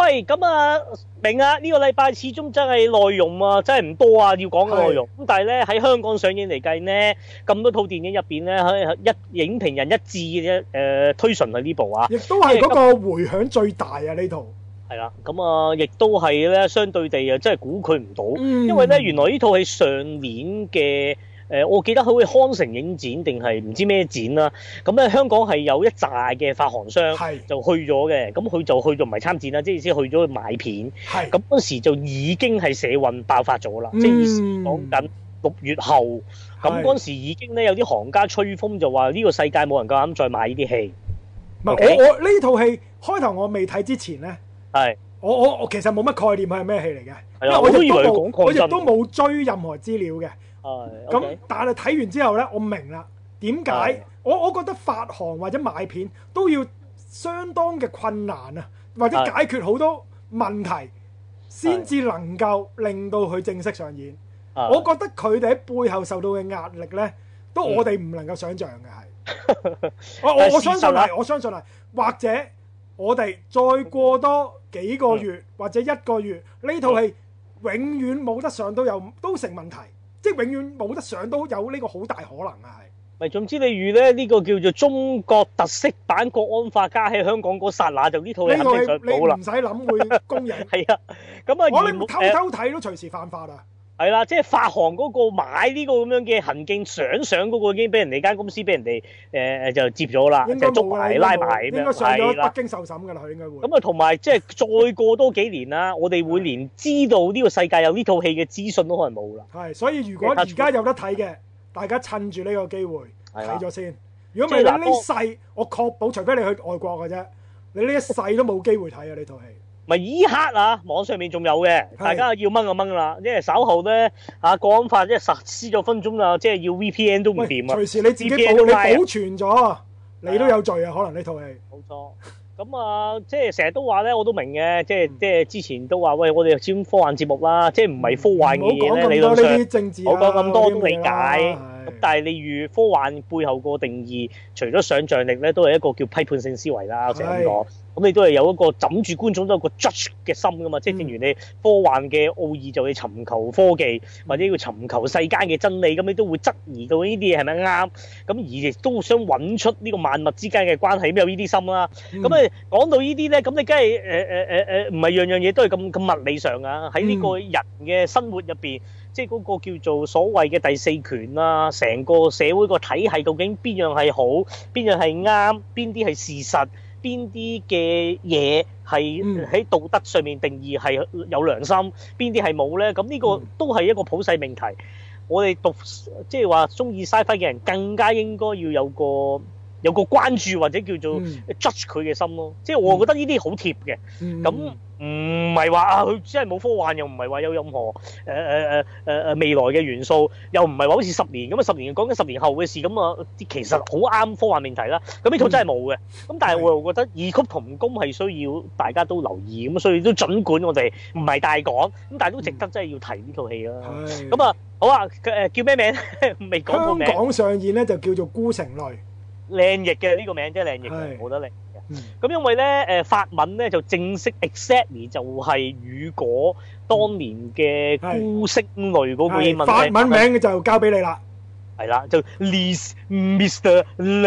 喂，咁啊，明啊，呢個禮拜始終真係內容啊，真係唔多啊，要講嘅內容。咁但係咧喺香港上映嚟計呢，咁多套電影入邊咧，影評人一致嘅推崇係呢部啊， 亦都係嗰個迴響最大啊呢套。 係啦，咁啊，亦都係咧，相對地啊，真係估佢唔到，因為咧原來呢套係上年嘅。我記得佢去康城影展定係唔知咩展啦，咁咧香港係有一紮嘅發行商就去咗嘅，咁佢就去咗唔係參展啦，即係意思去咗去買片，咁嗰時就已經係社運爆發咗啦，即係意思講緊6月後，咁嗰時已經咧有啲行家吹風就話呢個世界冇人夠膽再買呢啲戲。 唔係我呢套戲開頭我未睇之前咧，我其實冇乜概念佢係咩戲嚟嘅，因為我亦都冇追任何資料嘅。咁但係睇完之後呢，我明啦點解我覺得發行或者買片都要相當嘅困難啊，或者解決好多問題先至能夠令到佢正式上演。我覺得佢哋喺背後受到嘅壓力呢，都我哋唔能夠想象嘅係。我相信係，我相信係，或者我哋再過多幾個月或者1個月，呢套戲永遠冇得上都成問題。即係永遠冇得上都有呢個好大可能啊！係咪總之你預咧呢個叫做中國特色版國安法加喺香港嗰剎那就呢套戲肯定上到啦， 你唔使諗會公映。 係啊，咁啊我哋偷睇都隨時犯法啊！ 係啦，即係發行嗰個買呢個咁樣嘅行徑想上嗰個已經俾人哋間公司俾人哋就接咗啦，就捉埋拉埋咁樣。 應該上咗北京受審㗎啦，佢應該會。 咁啊，同埋即係再過多幾年啦，我哋會連知道呢個世界有呢套戲嘅資訊都可能冇啦。 係，所以如果而家有得睇嘅，大家趁住呢個機會睇咗先。如果唔係你呢世，我確保除非你去外國嘅啫，你呢一世都冇機會睇啊！呢套戲。 咪依刻啊，網上面仲有嘅，大家要掹就掹啦，因為稍後咧國安法即係實施咗分鐘啦，即係要 VPN 都唔掂啊！ 隨時你自己你保存咗，你都有罪啊！可能呢套戲。冇錯。咁啊，即係成日都話咧，我都明嘅，即係之前都話喂，我哋先科幻節目啦，即係唔係科幻嘅嘢咧，理論上冇講咁多都理解。咁但係你預科幻背後個定義，除咗想像力咧，都係一個叫批判性思維啦，我成日咁講。咁你都係有一個枕住觀眾都有個 judge 嘅心噶嘛，即係正如你科幻嘅奧義就係尋求科技或者要尋求世間嘅真理，咁你都會質疑到呢啲嘢係咪啱，咁而亦都想揾出呢個萬物之間嘅關係，咁有呢啲心啦。咁講到呢啲咧，咁你梗係唔係樣樣嘢都係咁物理上啊？喺呢個人嘅生活入邊，即係嗰個叫做所謂嘅第四權啊，成個社會個體系究竟邊樣係好，邊樣係啱，邊啲係事實，邊啲嘅嘢係喺道德上面定義係有良心，邊啲係冇咧？咁呢個都係一個普世命題。我哋讀即係話中意 sci-fi 嘅人，更加應該要有個關注或者叫做 judge 佢嘅心咯。即係我覺得呢啲好貼嘅。咁唔係話佢真係冇科幻，又唔係話有任何未來嘅元素，又唔係話好似10年咁啊，10年講緊10年後嘅事咁啊，其實好啱科幻命題啦。咁呢套真係冇嘅。咁但係我又覺得異曲同工係需要大家都留意，咁所以都儘管我哋唔係大講，咁但係都值得真係要提呢套戲啦。咁啊，好啊，叫咩名？未講個名。 香港上演咧就叫做《孤城淚》。 靚譯嘅呢個名真係靚譯嘅，冇得靚嘅。咁因為咧法文咧就正式 exactly 就係雨果當年嘅孤星淚嗰個英文名。 法文名就交俾你啦。 係啦，就 Les Mr.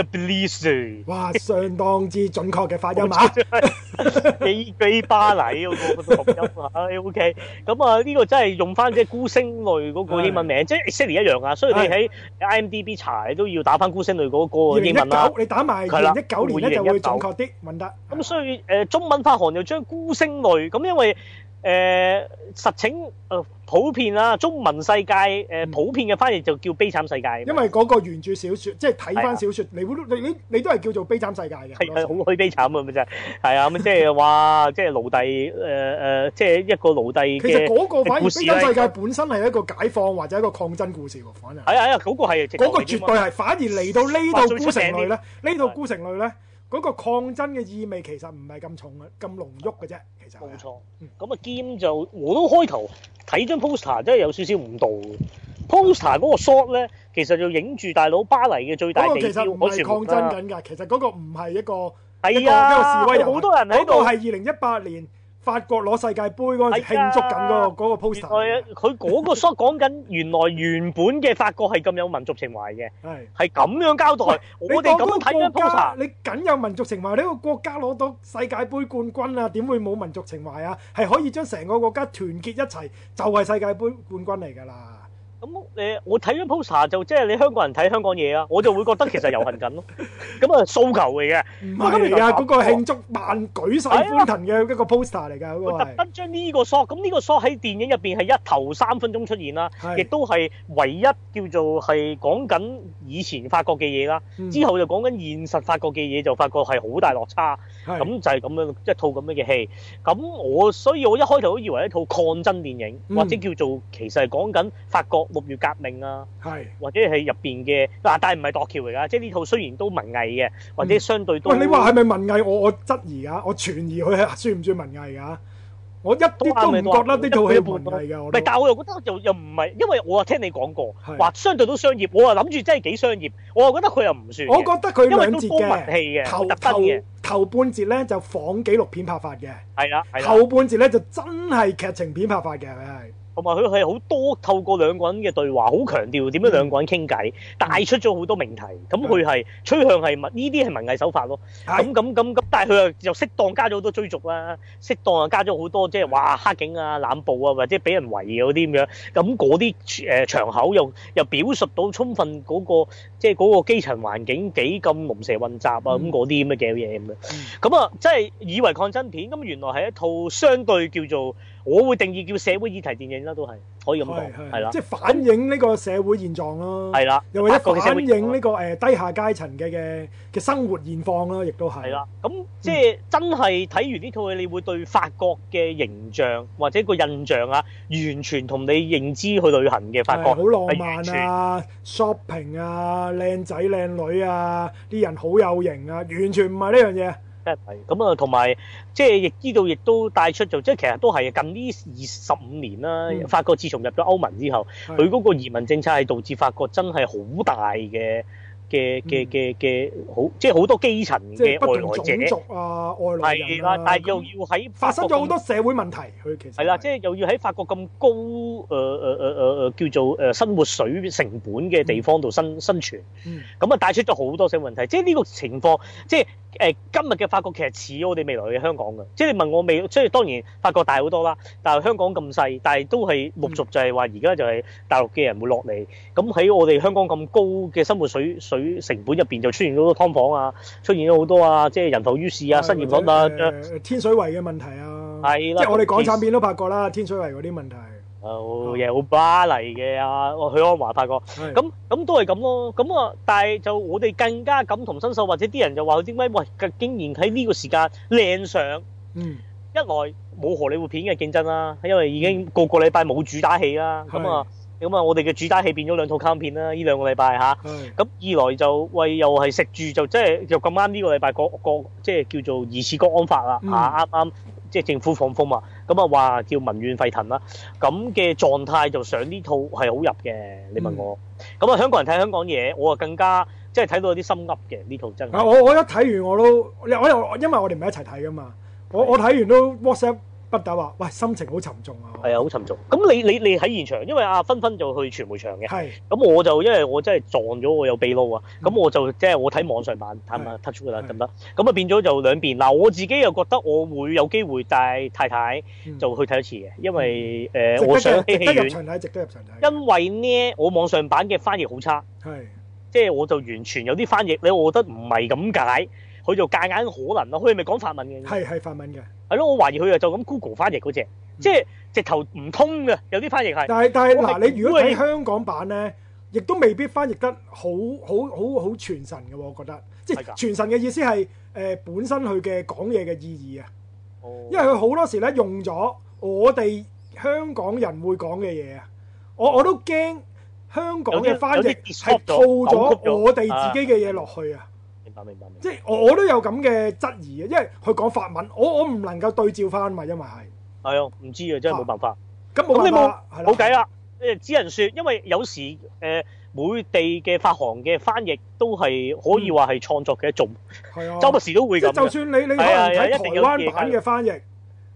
Leblis。 哇，相當之準確嘅發音啊！ 幾巴黎嗰個讀音啊 ，OK。咁啊，呢個真係用翻即係孤星淚嗰個英文名，即係 exactly 一樣啊。所以你喺 IMDB 查都要打翻孤星淚嗰個英文啦。 你打埋2019年咧就會準確啲，問得。 咁所以中文發行又將孤星淚咁，因為實情普遍啦，中文世界普遍嘅翻譯就叫悲慘世界。 因為嗰個原著小説，即係睇翻小説，你都係叫做悲慘世界嘅。 係好虛悲慘啊！咪真係係啊！咁即係話，即係奴隸即係一個奴隸嘅。其實嗰個反而悲慘世界本身係一個解放或者一個抗爭故事喎，反而係啊！嗰個係嗰個絕對係。反而嚟到呢套孤城淚咧，呢套孤城淚咧。嗰個抗爭嘅意味其實唔係咁重嘅，咁濃郁嘅啫。其實冇錯。咁啊兼就我都開頭睇張 poster 真係有少少誤導嘅。poster 嗰個 shot 咧，其實就影住大佬巴黎嘅最大地標。 其實唔係抗爭緊㗎，其實嗰個唔係一個係啊， 一個示威人。 好多人喺度。 嗰個係2018年法國攞世界盃嗰陣時慶祝緊嗰個 poster。 佢嗰個 shot 講緊原本嘅法國係咁有民族情懷嘅，係咁樣交代。我哋咁睇緊 poster， 你梗有民族情懷，呢個國家攞到世界盃冠軍啊，點會冇民族情懷啊？係可以將成個國家團結一齊，就係世界盃冠軍嚟㗎啦。 咁我睇咗 poster 就即係你香港人睇香港嘢啊，我就會覺得其實遊行緊咯。咁啊訴求嚟嘅， 唔係嚟㗎，嗰個慶祝萬舉世歡騰嘅一個 poster 嚟㗎，嗰個係。 特登將呢個 shot，咁呢個 shot 喺電影入邊係一頭3分鐘出現啦，亦都係唯一叫做係講緊以前法國嘅嘢啦。之後就講緊現實法國嘅嘢，就發覺係好大落差。咁就係咁樣一套咁樣嘅戲。咁所以我一開頭都以為一套抗爭電影，或者叫做其實係講緊法國6月革命啊，或者係入邊嘅但係唔係墮橋嚟㗎，即係呢套雖然都文藝嘅，或者相對都喂，你話係咪文藝？我質疑㗎，我存疑佢係算唔算文藝㗎？我一啲都唔覺得呢套戲文藝㗎。 唔係，但係我又覺得又唔係，因為我又聽你講過話相對都商業，我又諗住真係幾商業，我又覺得佢又唔算。 我覺得佢兩節嘅頭半節咧就仿紀錄片拍法嘅， 係啦， 後半節咧就真係劇情片拍法嘅，佢係。 同埋佢係好多透過兩個人嘅對話，好強調點樣兩個人傾偈，帶出咗好多命題。咁佢係趨向係呢啲係文藝手法咯。咁，但係佢又適當加咗好多追逐啦，適當又加咗好多即係話黑警啊、濫捕啊，或者俾人圍嗰啲咁樣。咁嗰啲場口又表述到充分嗰個即係嗰個基層環境幾咁龍蛇混雜啊，咁嗰啲咁嘅嘢咁樣。咁啊，即係以為抗爭片，咁原來係一套相對叫做我會定義叫社會議題電影啦，都係可以咁講，係啦， 即係反映呢個社會現狀咯， 係啦， 又或者反映呢個低下階層嘅生活現況咯，亦都係。係啦， 咁即係真係睇完呢套戲，你會對法國嘅形象或者個印象啊，完全同你認知去旅行嘅法國好浪漫啊 ，shopping 啊，靚仔靚女啊，啲人好有型啊，完全唔係呢樣嘢。 咁啊，同埋即係亦知道，亦都帶出就即係其實都係近呢25年啦。法國自從入咗歐盟之後，佢嗰個移民政策係導致法國真係好大嘅好，即係好多基層嘅外來者， 種族啊，外來人係啦，但係又要喺發生咗好多社會問題，佢其實係啦，即係又要喺法國咁高叫做生活水成本嘅地方度生存，咁啊帶出咗好多社會問題。即係呢個情況，即係今日嘅法國其實似我哋未來嘅香港嘅。即係你問我未，即係當然法國大好多啦，但係香港咁細，但係都係陸續就係話而家就係大陸嘅人會落嚟，咁喺我哋香港咁高嘅生活水成本入邊就出現咗好多劏房啊，出現咗好多啊，即係人浮於事啊，失業率啊， 天水圍嘅問題啊， 係啦， 即係我哋港產片都拍過啦，天水圍嗰啲問題。 嘢好巴黎嘅啊，許鞍華發覺，咁都係咁咯。咁啊，但係就我哋更加感同身受，或者啲人就話佢點解喂，竟然喺呢個時間靚上，一來冇荷里活片嘅競爭啦，因為已經個禮拜冇主打戲啦，咁啊，我哋嘅主打戲變咗2套卡通片啦，呢2個禮拜嚇。咁二來就喂又係食住就即係又咁啱呢個禮拜個即係叫做疑似國安法啦嚇，啱。即係政府放風嘛，咁啊話叫民怨沸騰啦，咁嘅狀態就上呢套係好入嘅。你問我，咁啊香港人睇香港嘢，我啊更加即係睇到有啲心噏嘅呢套真係。 我一睇完我都，因為我哋唔係一齊睇噶嘛，我睇完都 WhatsApp 不打話，喂心情好沉重啊。係啊， 好沉重。咁你喺現場，因為阿芬就去傳媒場嘅，咁我就因為我真係撞咗我有秘撈啊，咁我就即係我睇網上版睇下 touch 㗎啦，得唔得？咁啊變咗就兩邊。嗱我自己又覺得我會有機會帶太太就去睇一次嘅，因為我想戲院值得入場睇。因為呢，我網上版嘅翻譯好差，即係我就完全有啲翻譯咧，我覺得唔係咁解。佢就夾硬可能咯，佢係咪講法文嘅？ 係法文嘅。 係咯，我懷疑佢就咁 Google 翻譯嗰隻，即係直頭唔通嘅，有啲翻譯係。 但係嗱，你如果睇香港版咧，亦都未必翻譯得好傳神嘅喎，我覺得。即係傳神嘅意思係本身佢嘅講嘢嘅意義啊。因為佢好多時咧用咗我哋香港人會講嘅嘢啊，我都驚香港嘅翻譯係套咗我哋自己嘅嘢落去啊。 明白。 即係我都有咁嘅質疑啊，因為佢講法文，我唔能夠對照翻嘛，因為係啊， 唔知啊，真係冇辦法。 咁冇辦法， 冇計啦。只能說，因為有時每地嘅發行嘅翻譯都係可以話係創作嘅一種，周不時都會咁。 就算你可能睇台灣版嘅翻譯，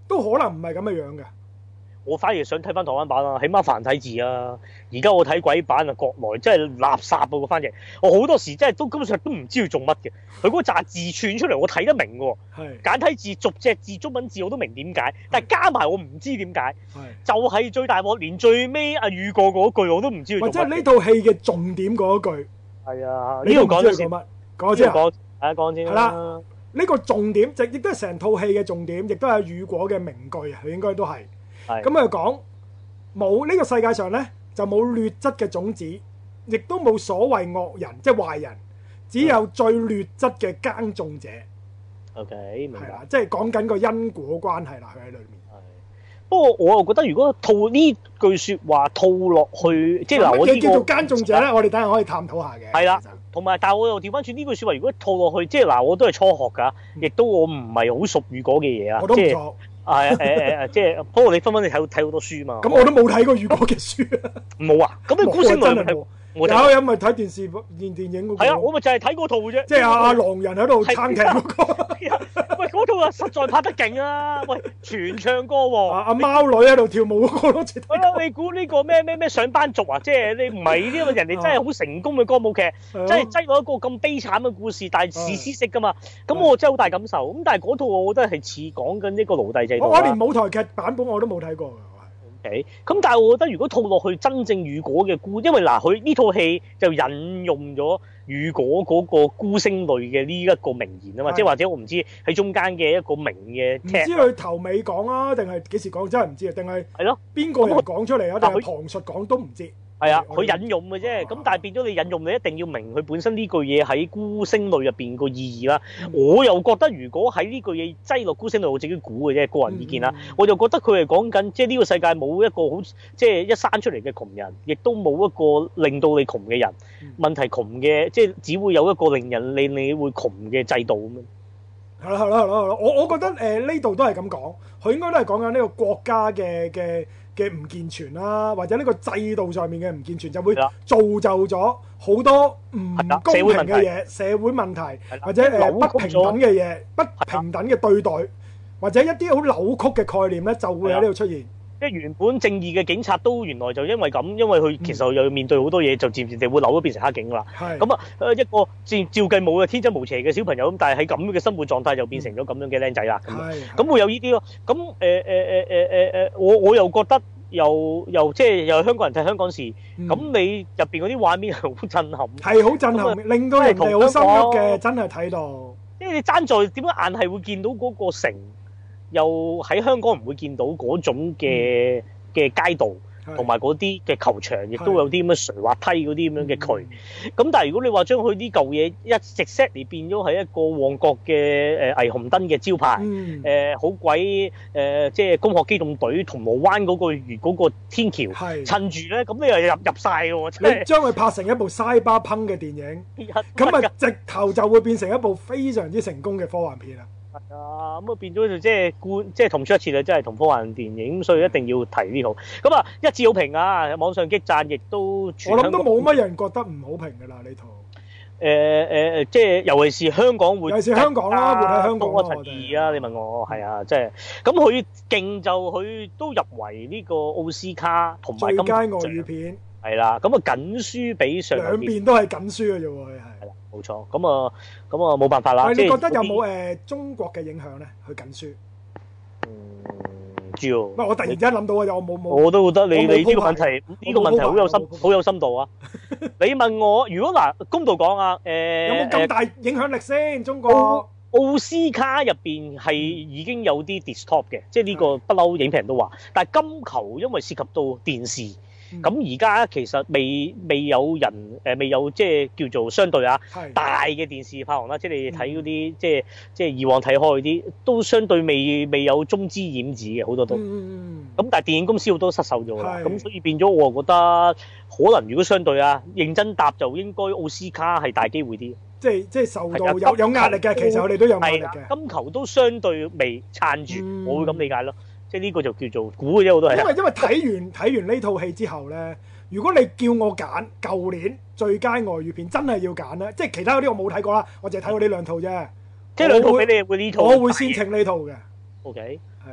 都可能唔係咁嘅樣嘅。 我反而想睇翻台灣版啊，起碼繁體字啊。而家我睇鬼版啊，國內真係垃圾啊個翻譯。我好多時真係都根本上都唔知佢做乜嘅。佢嗰紮字串出嚟，我睇得明喎。簡體字逐隻字中文字我都明點解，但係加埋我唔知點解。就係最大鑊，連最尾阿宇過嗰句我都唔知佢做乜。 即係呢套戲嘅重點嗰句。 係啊，呢度講咗先。 講先。 講先。 係啦，呢個重點亦都係成套戲嘅重點，亦都係宇果嘅名句啊！佢應該都係。咁佢講冇呢個世界上咧，就冇劣質嘅種子，亦都冇所謂惡人，即係壞人，只有最劣質嘅耕種者。 OK， 明白。係啦， 即係講緊個因果關係啦，佢喺裏面。 不過我又覺得，如果套呢句説話套落去，即係嗱，我乜嘢叫做耕種者咧？我哋等陣可以探討下嘅。 係啦，同埋，但係我又調翻轉呢句説話，如果套落去，即係嗱，我都係初學㗎，亦都我唔係好熟語嗰嘅嘢啊。 我都唔錯。 即係不過你分分你睇好多書嘛。 咁我都冇睇過宇果嘅書啊。 冇啊？咁你孤星淚有咪睇電視電影嗰個？ 係啊，我咪就係睇嗰套嘅啫。 即係阿狼人喺度撐艇嗰個。 喂，嗰套啊實在拍得勁啊！喂，全唱歌喎。阿貓女喺度跳舞嗰個咯。 係咯，你估呢個咩上班族啊？即係你唔係呢個人哋真係好成功嘅歌舞劇，真係擠落一個咁悲慘嘅故事，但係史詩式噶嘛。咁我真係好大感受。咁但係嗰套我覺得係似講緊呢個奴隸制度。 我連舞台劇版本我都冇睇過。 咁但係我覺得如果套落去真正宇果嘅孤，因為嗱佢呢套戲就引用咗宇果嗰個孤星淚嘅呢一個名言啊嘛，即係或者我唔知喺中間嘅一個名嘅，唔知佢頭尾講啊，定係幾時講真係唔知啊，定係係咯邊個人講出嚟啊，定係旁述講都唔知。係啊，佢引用嘅啫，咁但係變咗你引用，你一定要明佢本身呢句嘢喺孤星淚入邊個意義啦。我又覺得如果喺呢句嘢擠落孤星淚，我自己估嘅啫，個人意見啦。我就覺得佢係講緊，即係呢個世界冇一個好，即係一生出嚟嘅窮人，亦都冇一個令到你窮嘅人。問題窮嘅，即係只會有一個令你會窮嘅制度咁樣。係啦，我覺得呢度都係咁講，佢應該都係講緊呢個國家嘅唔健全啦，或者呢個制度上面嘅唔健全，就會造就咗好多唔公平嘅嘢，社會問題，或者不平等嘅嘢，不平等嘅對待，或者一啲好扭曲嘅概念咧，就會喺呢度出現。 即係原本正義嘅警察都原來就因為咁，因為佢其實又要面對好多嘢，就漸漸地會扭咗變成黑警啦。咁啊，一個照計冇嘅天真無邪嘅小朋友咁，但係喺咁嘅生活狀態就變成咗咁樣嘅僆仔啦。咁會有呢啲咯。咁我又覺得又即係又香港人睇香港事，咁你入邊嗰啲畫面係好震撼， 係好震撼，令到人哋好深刻嘅，真係睇到。 即係你爭在點解硬係會見到嗰個城？又喺香港唔會見到嗰種嘅街道，同埋嗰啲嘅球場，亦都有啲咁嘅垂滑梯嗰啲咁樣嘅渠。咁但係如果你話將佢呢嚿嘢一直 set 嚟變咗係一個旺角嘅霓虹燈嘅招牌，好鬼即係攻殼機動隊銅鑼灣嗰個天橋，趁住咧，咁你又入晒嘅喎。你將佢拍成一部西巴烹嘅電影，咁啊直頭就會變成一部非常之成功嘅科幻片啦。 係啊，咁啊變咗就即係同出一轍啦，即係同科幻電影，咁所以一定要提呢套。咁啊一致好評啊，網上激讚，亦都我諗都冇乜人覺得唔好評㗎啦呢套。 即係尤其是香港會， 尤其是香港啦，活喺香港我陳義啊，你問我係啊，即係咁佢勁就佢都入圍呢個奧斯卡同埋最佳外語片。 係啦，咁啊緊輸俾上兩邊都係緊輸嘅啫喎，係。 冇錯，咁啊冇辦法啦。 你覺得有冇中國嘅影響咧？佢緊輸。 唔知喎。唔係我突然之間諗到啊！我冇。 我都覺得你呢個問題好有深度啊！你問我，如果嗱公道講啊， 有冇咁大影響力先？中國奧斯卡入邊係已經有啲 distop 嘅，即係呢個不嬲影評人都話。但係金球因為涉及到電視。咁而家其實未有人未有即係叫做相對大嘅電視拍行啦，即係你睇嗰啲即係以往睇開嗰啲都相對未有中資染指嘅好多都。咁但係電影公司好多失手咗啦，咁所以變咗我覺得可能如果相對認真答就應該奧斯卡係大機會啲。即係受到有壓力嘅，其實我哋都有壓力嘅。 金球都相對未撐住，我會咁理解咯。即係呢個就叫做估嘅啫，我都係。 因為睇完呢套戲之後咧，如果你叫我揀舊年最佳外語片，真係要揀咧，即係其他嗰啲我冇睇過啦，我淨係睇過呢兩套啫。 即係兩套俾你會呢套， 我會先請呢套嘅。 OK。 係啊。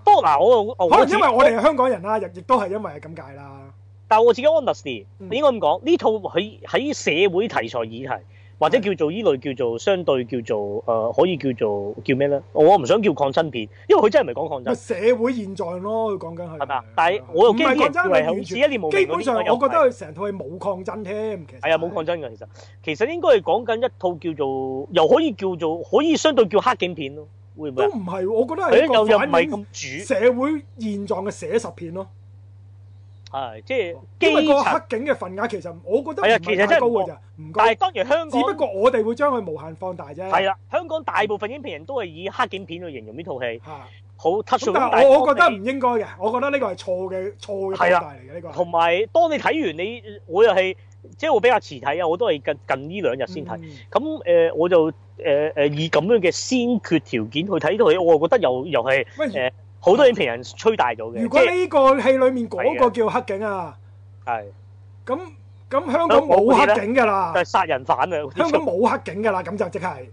不過嗱，我可能因為我哋係香港人啦，亦都係因為係咁解啦。 但係我自己 honestly 應該咁講，呢套喺社會題材議題，或者叫做依類叫做相對叫做可以叫咩咧？我唔想叫抗爭片，因為佢真係唔係講抗爭。 社會現狀咯，佢講緊係。係嘛？但係我又驚啲人以為好似一念無明嗰啲。 基本上，我覺得佢成套係冇抗爭添。其實係啊，冇抗爭㗎。其實應該係講緊一套叫做又可以叫做可以相對叫黑警片咯。會唔會？ 都唔係，我覺得係一個又唔係咁主社會現狀嘅寫實片咯。 係，即係因為個黑警嘅份額其實我覺得唔係太高㗎咋，唔高。 但係當然香港， 只不過我哋會將佢無限放大啫。 係啦，香港大部分影評人都係以黑警片去形容呢套戲，好 touch。 但係我覺得唔應該嘅，我覺得呢個係錯嘅放大嚟嘅呢個。 同埋當你睇完我又係即係我比較遲睇啊，我都係近呢2日先睇。咁我就以咁樣嘅先決條件去睇套戲，我覺得又係好多影評人吹大咗嘅。 如果呢個戲裡面嗰個叫黑警啊， 係咁香港冇黑警㗎啦， 係殺人犯啊！ 香港冇黑警㗎啦，咁就即係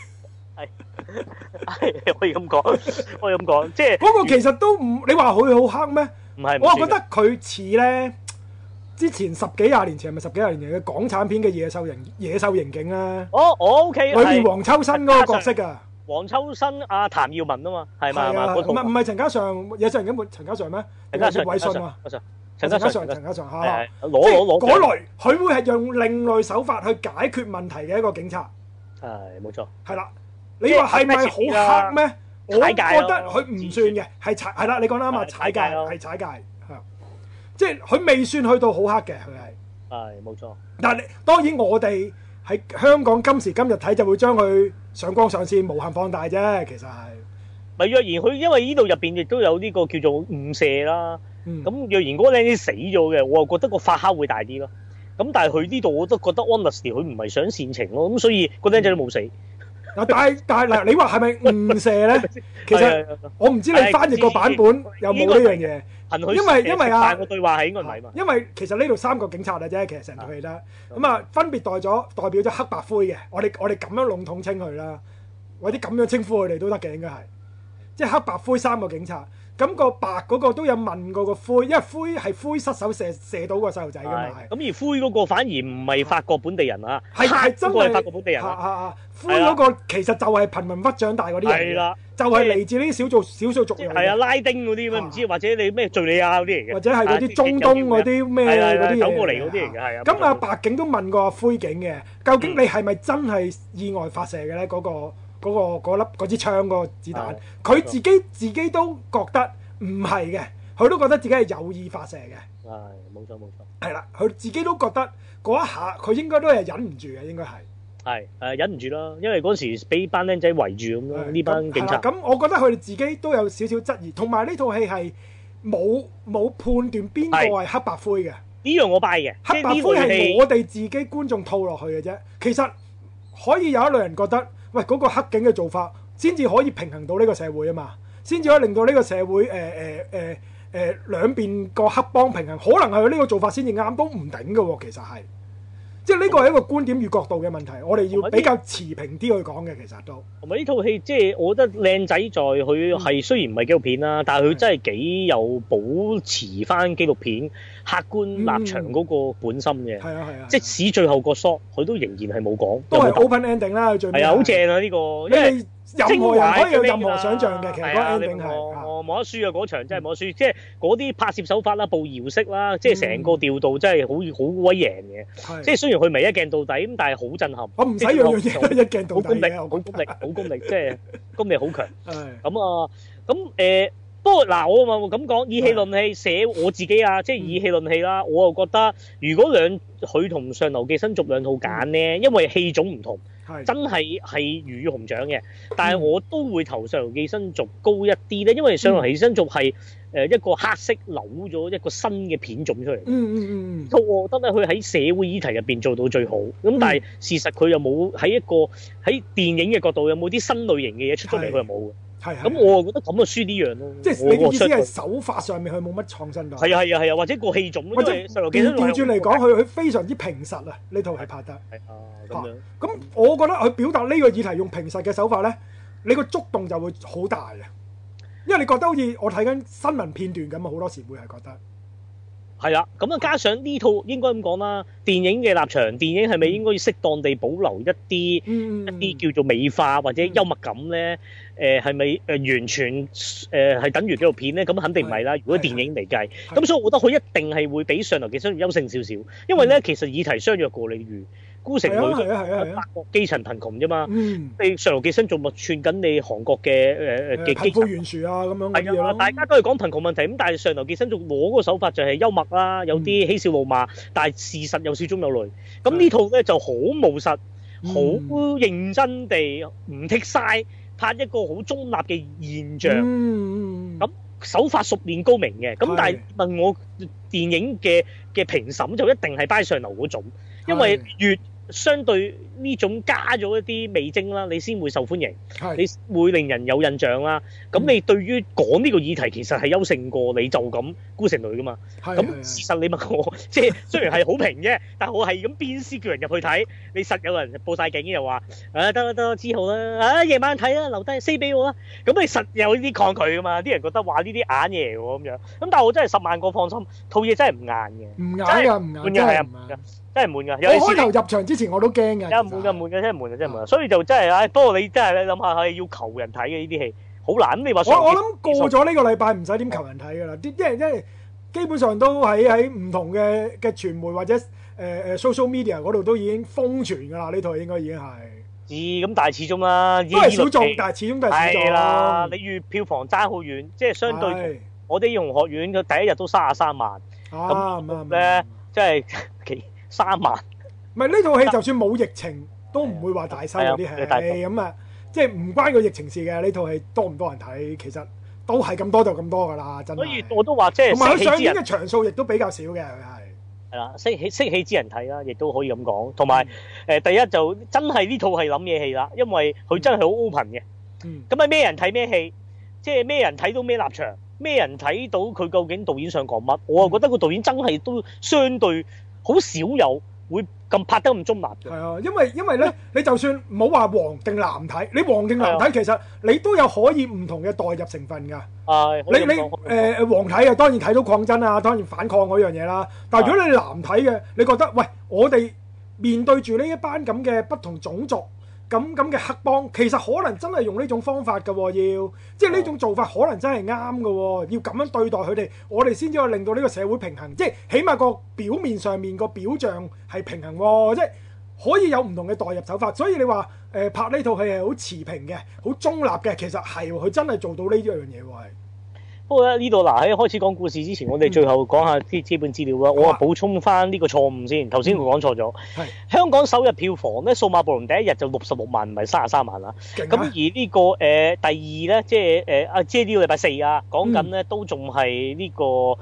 可以咁講，即係嗰個其實都唔，你話佢好黑咩？ 唔係， 我覺得佢似咧之前10幾20年前係咪10幾20年嘅港產片嘅野獸刑警啊？ 我 OK， 裏面黃秋生嗰個角色啊。 黃秋生阿譚耀文啊嘛，係嘛？ 唔係陳嘉上，野獸刑警陳嘉上咩？ 陳嘉上葉偉信啊，陳嘉上嚇， 攞嗰類，佢會係用另類手法去解決問題嘅一個警察。 係冇錯。係啦，你話係咪好黑咩？我覺得佢唔算嘅，係啦，你講得啱啊，踩界係踩界係，即係佢未算去到好黑嘅，佢係。係冇錯。但係當然我哋喺香港今時今日睇就會將佢上綱上線無限放大啫，其實係。 咪若然佢因為呢度入邊亦都有呢個叫做誤射啦，咁若然嗰個靚仔死咗嘅，我又覺得個發酵會大啲咯。咁但係佢呢度我都覺得 honestly 佢唔係想煽情咯，咁所以個靚仔都冇死。 但係嗱，你話係咪誤射咧？其實我唔知你翻譯個版本有冇呢樣嘢。因為啊， 個對話係應該唔係嘛？ 因為其實呢度3個警察嘅啫，其實成套戲啦。咁啊，分別代表咗黑白灰嘅。我哋咁樣籠統稱佢啦，或者咁樣稱呼佢哋都得嘅，應該係。即係黑白灰3個警察。咁個白嗰個都有問過個灰，因為灰係灰失手射到個細路仔㗎嘛。 咁而灰嗰個反而唔係法國本地人啊， 係真係法國本地人。 灰嗰個其實就係貧民窟長大嗰啲人。係啦，就係嚟自呢啲少數族裔。係啊，拉丁嗰啲咩唔知，或者你咩敍利亞嗰啲嚟嘅， 或者係嗰啲中東嗰啲咩嗰啲嘢走過嚟嗰啲嚟嘅，係啊。 咁啊，白警都問過灰警嘅，究竟你係咪真係意外發射嘅咧？嗰支槍嗰個子彈，佢自己都覺得唔係嘅，佢都覺得自己係有意發射嘅。 係，冇錯。 係啦，佢自己都覺得嗰一下，佢應該都係忍唔住嘅，應該係。 係忍唔住啦，因為嗰時俾班僆仔圍住咁咯，呢班警察。 咁我覺得佢哋自己都有少少質疑，同埋呢套戲係冇判斷邊個係黑白灰嘅。 呢樣我 buy 嘅， 黑白灰係我哋自己觀眾套落去嘅啫。其實可以有一類人覺得，喂，嗰個黑警嘅做法先至可以平衡到呢個社會啊嘛，先至可以令到呢個社會兩邊個黑幫平衡，可能係佢呢個做法先至啱，都唔頂嘅喎。其實係。即係呢個係一個觀點與角度嘅問題，我哋要比較持平啲去講嘅，其實都。同埋呢套戲，即係我覺得靚仔在佢係雖然唔係紀錄片啦，但係佢真係幾有保持翻紀錄片客觀立場嗰個本心嘅。係啊。即使最後個 shot，佢都仍然係冇講。 都係 open ending 啦，最尾。 係啊，好正啊呢個，因為任何人可以有任何想像嘅，其實嗰 ending 係冇得輸啊！嗰場真係冇得輸，即係嗰啲拍攝手法啦、步搖式啦，即係成個調度真係好威贏嘅。即係雖然佢唔係一鏡到底咁，但係好震撼。 我唔使樣樣嘢都一鏡到底嘅， 好功力，即係功力好強。咁不過嗱，我咪咁講，以戲論戲，寫我自己啊，即係以戲論戲啦。我又覺得，如果佢同《上流寄生族》兩套揀咧，因為戲種唔同，真係魚與熊掌嘅。但係我都會投《上流寄生族》高一啲咧，因為《上流寄生族》係一個黑色扭咗一個新嘅片種出嚟。我覺得咧，佢喺社會議題入邊做到最好。咁但係事實佢又冇喺電影嘅角度有冇啲新類型嘅嘢出咗嚟，佢又冇嘅。咁我覺得咁就輸呢樣咯。即係你嘅意思係手法上面佢冇乜創新㗎。係啊，或者個戲種。或者調轉嚟講，佢非常之平實啊！呢套係拍得。咁樣。咁我覺得佢表達呢個議題用平實嘅手法咧，你個觸動就會好大啊！ 因為你覺得好似我睇緊新聞片段咁啊，好多時會係覺得。 係啦，咁啊加上呢套應該咁講啦，電影嘅立場，電影係咪應該要適當地保留一啲叫做美化或者幽默感咧？係咪完全係等於紀錄片咧？咁肯定唔係啦。如果電影嚟計，咁所以我覺得佢一定係會比上流寄生族優勝少少，因為咧其實議題相若過，例如孤城女法國基層貧窮啫嘛，你上流寄生族咪串緊你韓國嘅貧富懸殊啊咁樣嘅嘢咯。 大家都係講貧窮問題，咁但係上流寄生族攞嗰個手法就係幽默啦，有啲嬉笑怒罵，但係事實有笑中有淚。咁呢套咧就好務實，好認真地唔剔晒，拍一個好中立嘅現象。咁手法熟練高明嘅，咁但係問我電影嘅評審就一定係擺上流嗰種，因為越相對呢種加咗一啲味精啦，你先會受歡迎，你會令人有印象啦。咁你對於講呢個議題其實係優勝過你就咁孤城女噶嘛。咁事實你問我，即係雖然係好評啫，但係我係咁鞭屍叫人入去睇，你實有人報晒警又話得知好啦，夜晚睇啦，留低撕俾我啦。咁你實有啲抗拒噶嘛？啲人覺得話呢啲硬嘢喎咁樣。咁但係我真係10萬個放心，套嘢真係唔硬嘅， 唔硬㗎，唔硬真係唔硬。 真係悶㗎， 我開頭入場之前我都驚㗎。 真係悶㗎，真係悶㗎。所以就真係，不過你真係你諗下，係要求人睇嘅呢啲戲，好難。你話我諗過咗呢個禮拜唔使點求人睇㗎啦，因為基本上都喺唔同嘅傳媒或者social media 嗰度都已經瘋傳㗎啦。呢套應該已經係。 咁但係始終啦， 都係小眾，但係始終都係小眾。係啦，你與票房爭好遠，即係相對我哋英雄學院佢第一日都33萬，咁咧即係3萬， 唔係呢套戲就算冇疫情都唔會話大收嗰啲戲，咁啊，即係唔關個疫情事嘅。呢套戲多唔多人睇，其實都係咁多就咁多噶啦，真係。 所以我都話即係， 同埋佢上映嘅場數亦都比較少嘅，佢係啦，識戲之人睇啦，亦都可以咁講。同埋第一就真係呢套係諗嘢戲啦，因為佢真係好 open 嘅。咁係咩人睇咩戲，即係咩人睇到咩立場，咩人睇到佢究竟導演想講乜？我啊覺得個導演真係都相對。好少有會咁拍得咁中立嘅。係啊，因為咧，你就算唔好話黃定藍睇，你黃定藍睇，其實你都有可以唔同嘅代入成分㗎。你黃睇啊，當然睇到抗爭啊，當然反抗嗰樣嘢啦。但係如果你藍睇嘅，你覺得喂，我哋面對住呢一班咁嘅不同種族。咁嘅黑幫其實可能真係用呢種方法㗎喎，即係呢種做法可能真係啱㗎喎，要咁樣對待佢哋，我哋先至可以令到呢個社會平衡，即係起碼個表面上面個表象係平衡喎，即係可以有唔同嘅代入手法。所以你話拍呢套戲係好持平嘅，好中立嘅，其實係佢真係做到呢一樣嘢喎。 不過咧呢度嗱喺開始講故事之前，我哋最後講下啲基本資料啦。我補充翻呢個錯誤先，頭先我講錯咗。香港首日票房咧，數碼暴龍第一日就66萬，唔係33萬啦。咁而呢個第二咧，即係即係呢個禮拜4啊，講緊咧都仲係呢個唔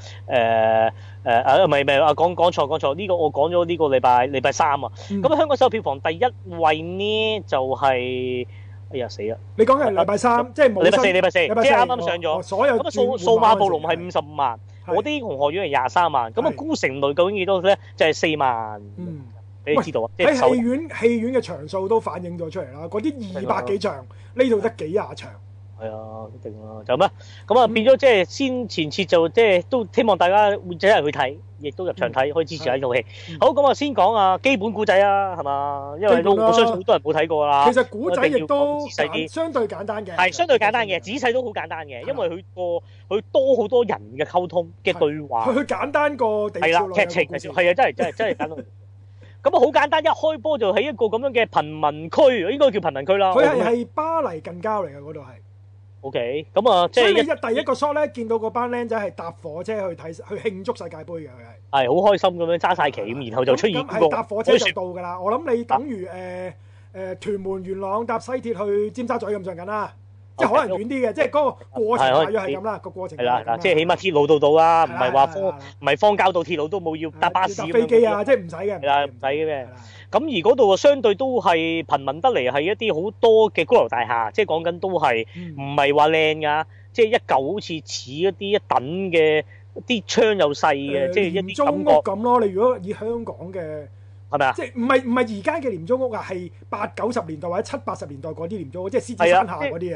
係講錯呢個我講咗呢個禮拜3啊。咁香港首日票房第一位呢就係。哎呀死啦！ 你講係禮拜3，即係冇禮拜四，即係啱啱上咗。 所有咁數碼暴龍係55萬，我啲英雄學院係23萬。咁孤城淚究竟幾多咧？就係4萬。俾你知道啊！ 喺戲院嘅場數都反映咗出嚟啦。嗰啲200幾場，呢度得幾廿場。 係啊，一定啦，就咩？咁啊變咗即係先前設就即係都希望大家會走入去睇，亦都入場睇，可以支持下呢套戲。好，咁啊先講啊基本古仔啊，係嘛？因為我相信好多人冇睇過啦。 其實古仔亦都相對簡單嘅。 係相對簡單嘅，仔細都好簡單嘅，因為佢多好多人嘅溝通嘅對話。 佢簡單過地。 係啦，劇情係啊，真係簡單。咁啊好簡單，一開波就喺一個咁樣嘅貧民區，應該叫貧民區啦。 佢係巴黎近郊嚟嘅嗰度係。 OK， 咁啊，即係第一個 shot 咧，見到嗰班僆仔係搭火車去慶祝世界盃嘅，佢係好開心咁樣揸晒旗，然後就出現係搭火車就到㗎啦。我諗你等於屯門元朗搭西鐵去尖沙咀咁上緊啦，即係可能遠啲嘅，即係嗰個過程大約係咁啦，個過程係啦， 即係起碼鐵路到啦，唔係話荒郊到鐵路都冇要搭巴士、 搭飛機啊，即係唔使嘅， 係啦，唔使嘅咩？咁而嗰度啊，相對都係貧民得嚟，係一啲好多嘅高樓大廈，即係講緊都係唔係話靚㗎，即係一嚿好似似一啲一等嘅啲窗又細嘅，即係一啲感覺咁咯。你如果以香港嘅係咪啊？ 即係唔係而家嘅廉租屋啊？係80、90年代或者70、80年代嗰啲廉租屋，即係獅子山下嗰啲啊。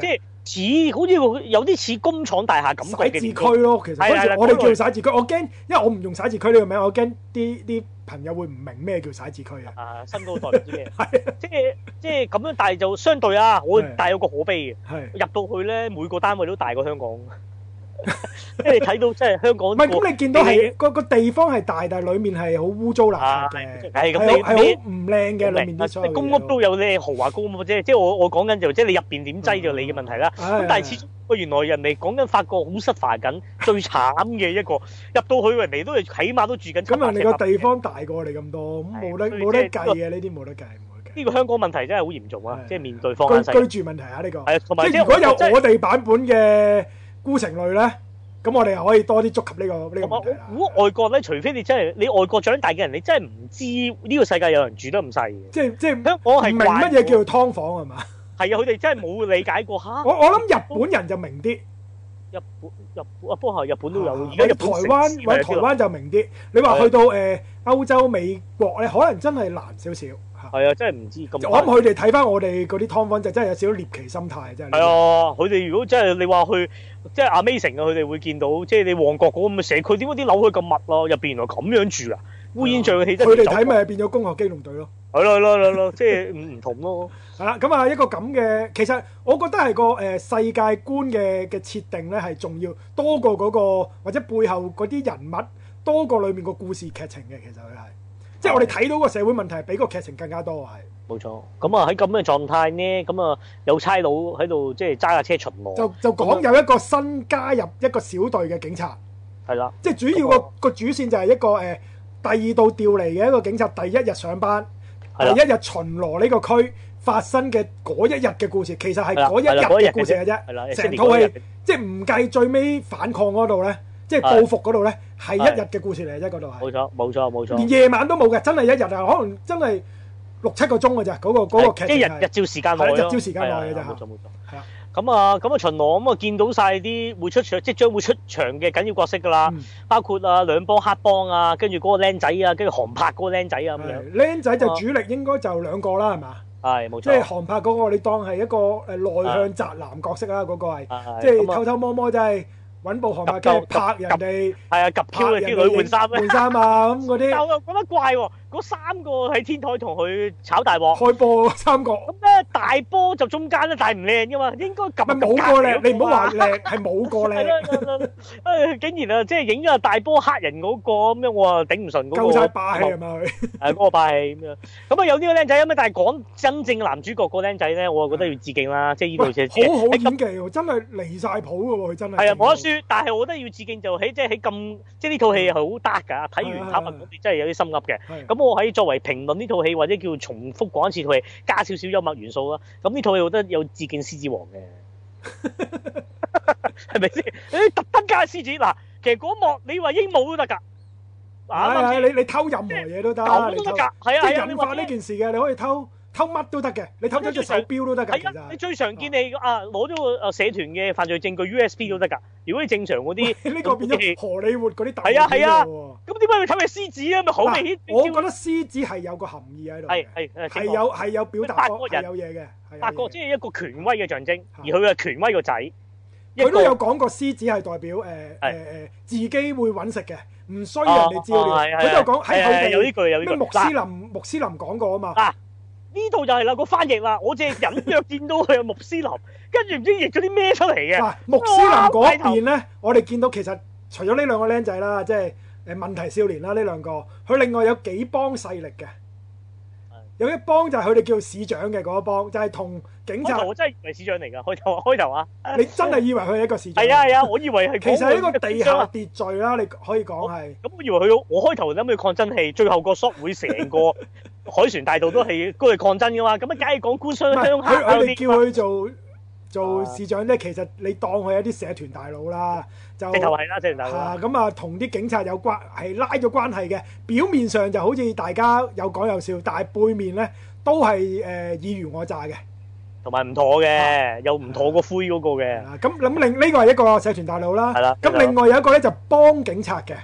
似好似有啲似工廠大廈感覺嘅寫字區咯，其實嗰時我哋叫寫字區，我驚，因為我唔用寫字區呢個名，我驚啲朋友會唔明咩叫寫字區啊。 新嗰代唔知咩，即係咁樣，但係就相對啊，但係有個可悲嘅，入到去咧，每個單位都大過香港。即係你睇到，即係香港唔係咁，你見到係個地方係大，但係裡面係好污糟邋遢嘅，係好唔靚嘅。裡面啲所有公屋都有啲豪華公屋啫，即係我講緊就即係你入邊點擠就你嘅問題啦。咁但係始終原來人哋講緊發覺好失緊，最慘嘅一個入到去人哋都係起碼都住緊。咁人哋個地方大過你咁多，咁冇得計嘅，呢啲冇得計。呢個香港問題真係好嚴重啊！即係面對方居住問題啊，呢個係同埋即係如果有我哋版本嘅孤城淚咧，咁我哋又可以多啲觸及呢個問題啦。我估外國咧，除非你真係你外國長大嘅人，你真係唔知呢個世界有人住得咁細嘅。即係我係唔明乜嘢叫做劏房係嘛？係啊，佢哋真係冇理解過嚇。我諗日本人就明啲。日本不過日本都有。而家台灣就明啲。你話去到歐洲美國咧，可能真係難少少。係啊，真係唔知咁。我諗佢哋睇翻我哋嗰啲劏房就真係有少少獵奇心態，真係。係啊，佢哋如果真係你話去即係 Amazing 啊，佢哋會見到即係你旺角嗰咁嘅社區，點解啲樓佢咁密咯？入邊原來咁樣住啊，烏煙瘴氣。佢哋睇咪變咗攻殼機動隊咯。係咯，即係唔同咯。係啦，咁啊一個咁嘅，其實我覺得係個世界觀嘅設定咧係重要多過嗰個或者背後嗰啲人物多過裡面個故事劇情嘅，其實佢係。即係我哋睇到個社會問題，比個劇情更加多係。冇錯。咁啊喺咁嘅狀態呢，咁啊有差佬喺度即係揸架車巡邏。就講有一個新加入一個小隊嘅警察。係啦。即係主要個主線就係一個第二度調嚟嘅一個警察，第一日上班，第一日巡邏呢個區發生嘅嗰一日嘅故事，其實係嗰一日嘅故事嘅啫。係啦。成套戲即係唔計最尾反抗嗰度咧。即係報復嗰度咧，係一日嘅故事嚟嘅啫，嗰度係。冇錯。連夜晚都冇嘅，真係一日啊，可能真係6-7個鐘嘅咋，嗰個劇情係。日照時間內咯。日照時間內嘅咋。冇錯。係啊。咁啊巡邏咁啊見到晒啲即將會出場嘅緊要角色㗎啦，包括兩幫黑幫啊，跟住嗰個僆仔啊，跟住韓柏嗰個僆仔啊咁樣。僆仔就主力應該就2個啦，係嘛？係冇錯。即係韓柏嗰個，你當係一個內向宅男角色啦，嗰個係，即係偷偷摸摸真係。揾部航拍機拍人哋，係啊，拍人啲女換衫啊咁嗰啲。但我又覺得怪喎，嗰3個喺天台同佢炒大鑊，開波3個。咁咧大波就中間咧，但係唔靚噶嘛，應該撳冇個靚，你唔好話靚，係冇個靚。竟然啊，即係影咗大波黑人嗰個咁樣，我啊頂唔順嗰個。夠曬霸氣係咪佢？係嗰個霸氣咁樣。咁啊有呢個僆仔咁啊，但係講真正男主角個僆仔咧，我啊覺得要致敬啦，即係呢度嘅。好好演技喎，真係離曬譜嘅喎，佢真係。係啊，冇得輸。但係我覺得要致敬就喺即係咁，即係呢套戲係好 dark 㗎。睇完坦白講，真係有啲心噏嘅。咁我喺作為評論呢套戲或者叫重複講一次套戲，加少少幽默元素啦。咁呢套戲我覺得有致敬獅子王嘅，係咪先？你特登加獅子嗱，其實嗰幕你話鸚鵡都得㗎。你偷任何嘢都得，狗都得㗎。係啊，即係引發呢件事嘅，你可以偷乜都得嘅，你偷咗隻手錶都得㗎。係啊，你最常見你攞咗個社團嘅犯罪證據 USB 都得㗎。如果你正常嗰啲，呢個變咗荷里活嗰啲大片嚟喎。咁點解要偷嘅獅子啊？咪好明顯。我覺得獅子係有個含義喺度。係有表達過係有嘢嘅。八國即係一個權威嘅象徵，而佢嘅權威個仔。佢都有講過獅子係代表自己會揾食嘅，唔需要人哋照料。佢都有講喺佢哋有呢句有呢句。穆斯林講過啊嘛。呢度就係啦，個翻譯啦，我淨係隱約見到佢有穆斯林，跟住唔知譯咗啲咩出嚟嘅。嗱，穆斯林嗰邊咧，我哋見到其實除咗呢兩個僆仔啦，即係問題少年啦，呢兩個，佢另外有幾幫勢力嘅。有一幫就係佢哋叫市長嘅嗰一幫，就係同警察。我真係以為市長嚟㗎，開頭啊！你真係以為佢係一個市長？係啊，我以為係。其實係一個地下秩序啦，你可以講係。咁我以為我開頭諗住抗爭戲，最後個 shot 會成個海船大道都係嗰個抗爭㗎嘛，咁啊梗係講官商鄉黑。佢哋叫佢做市長咧，其實你當佢係一啲社團大佬啦，就直頭係啦，社團大佬。咁啊，同啲警察有關係拉咗關係嘅，表面上就好似大家有講有笑，但係背面咧都係爾虞我詐嘅，同埋唔妥嘅，又唔妥個灰嗰個嘅。咁呢個係一個社團大佬啦。係啦。咁另外有一個咧就幫警察嘅。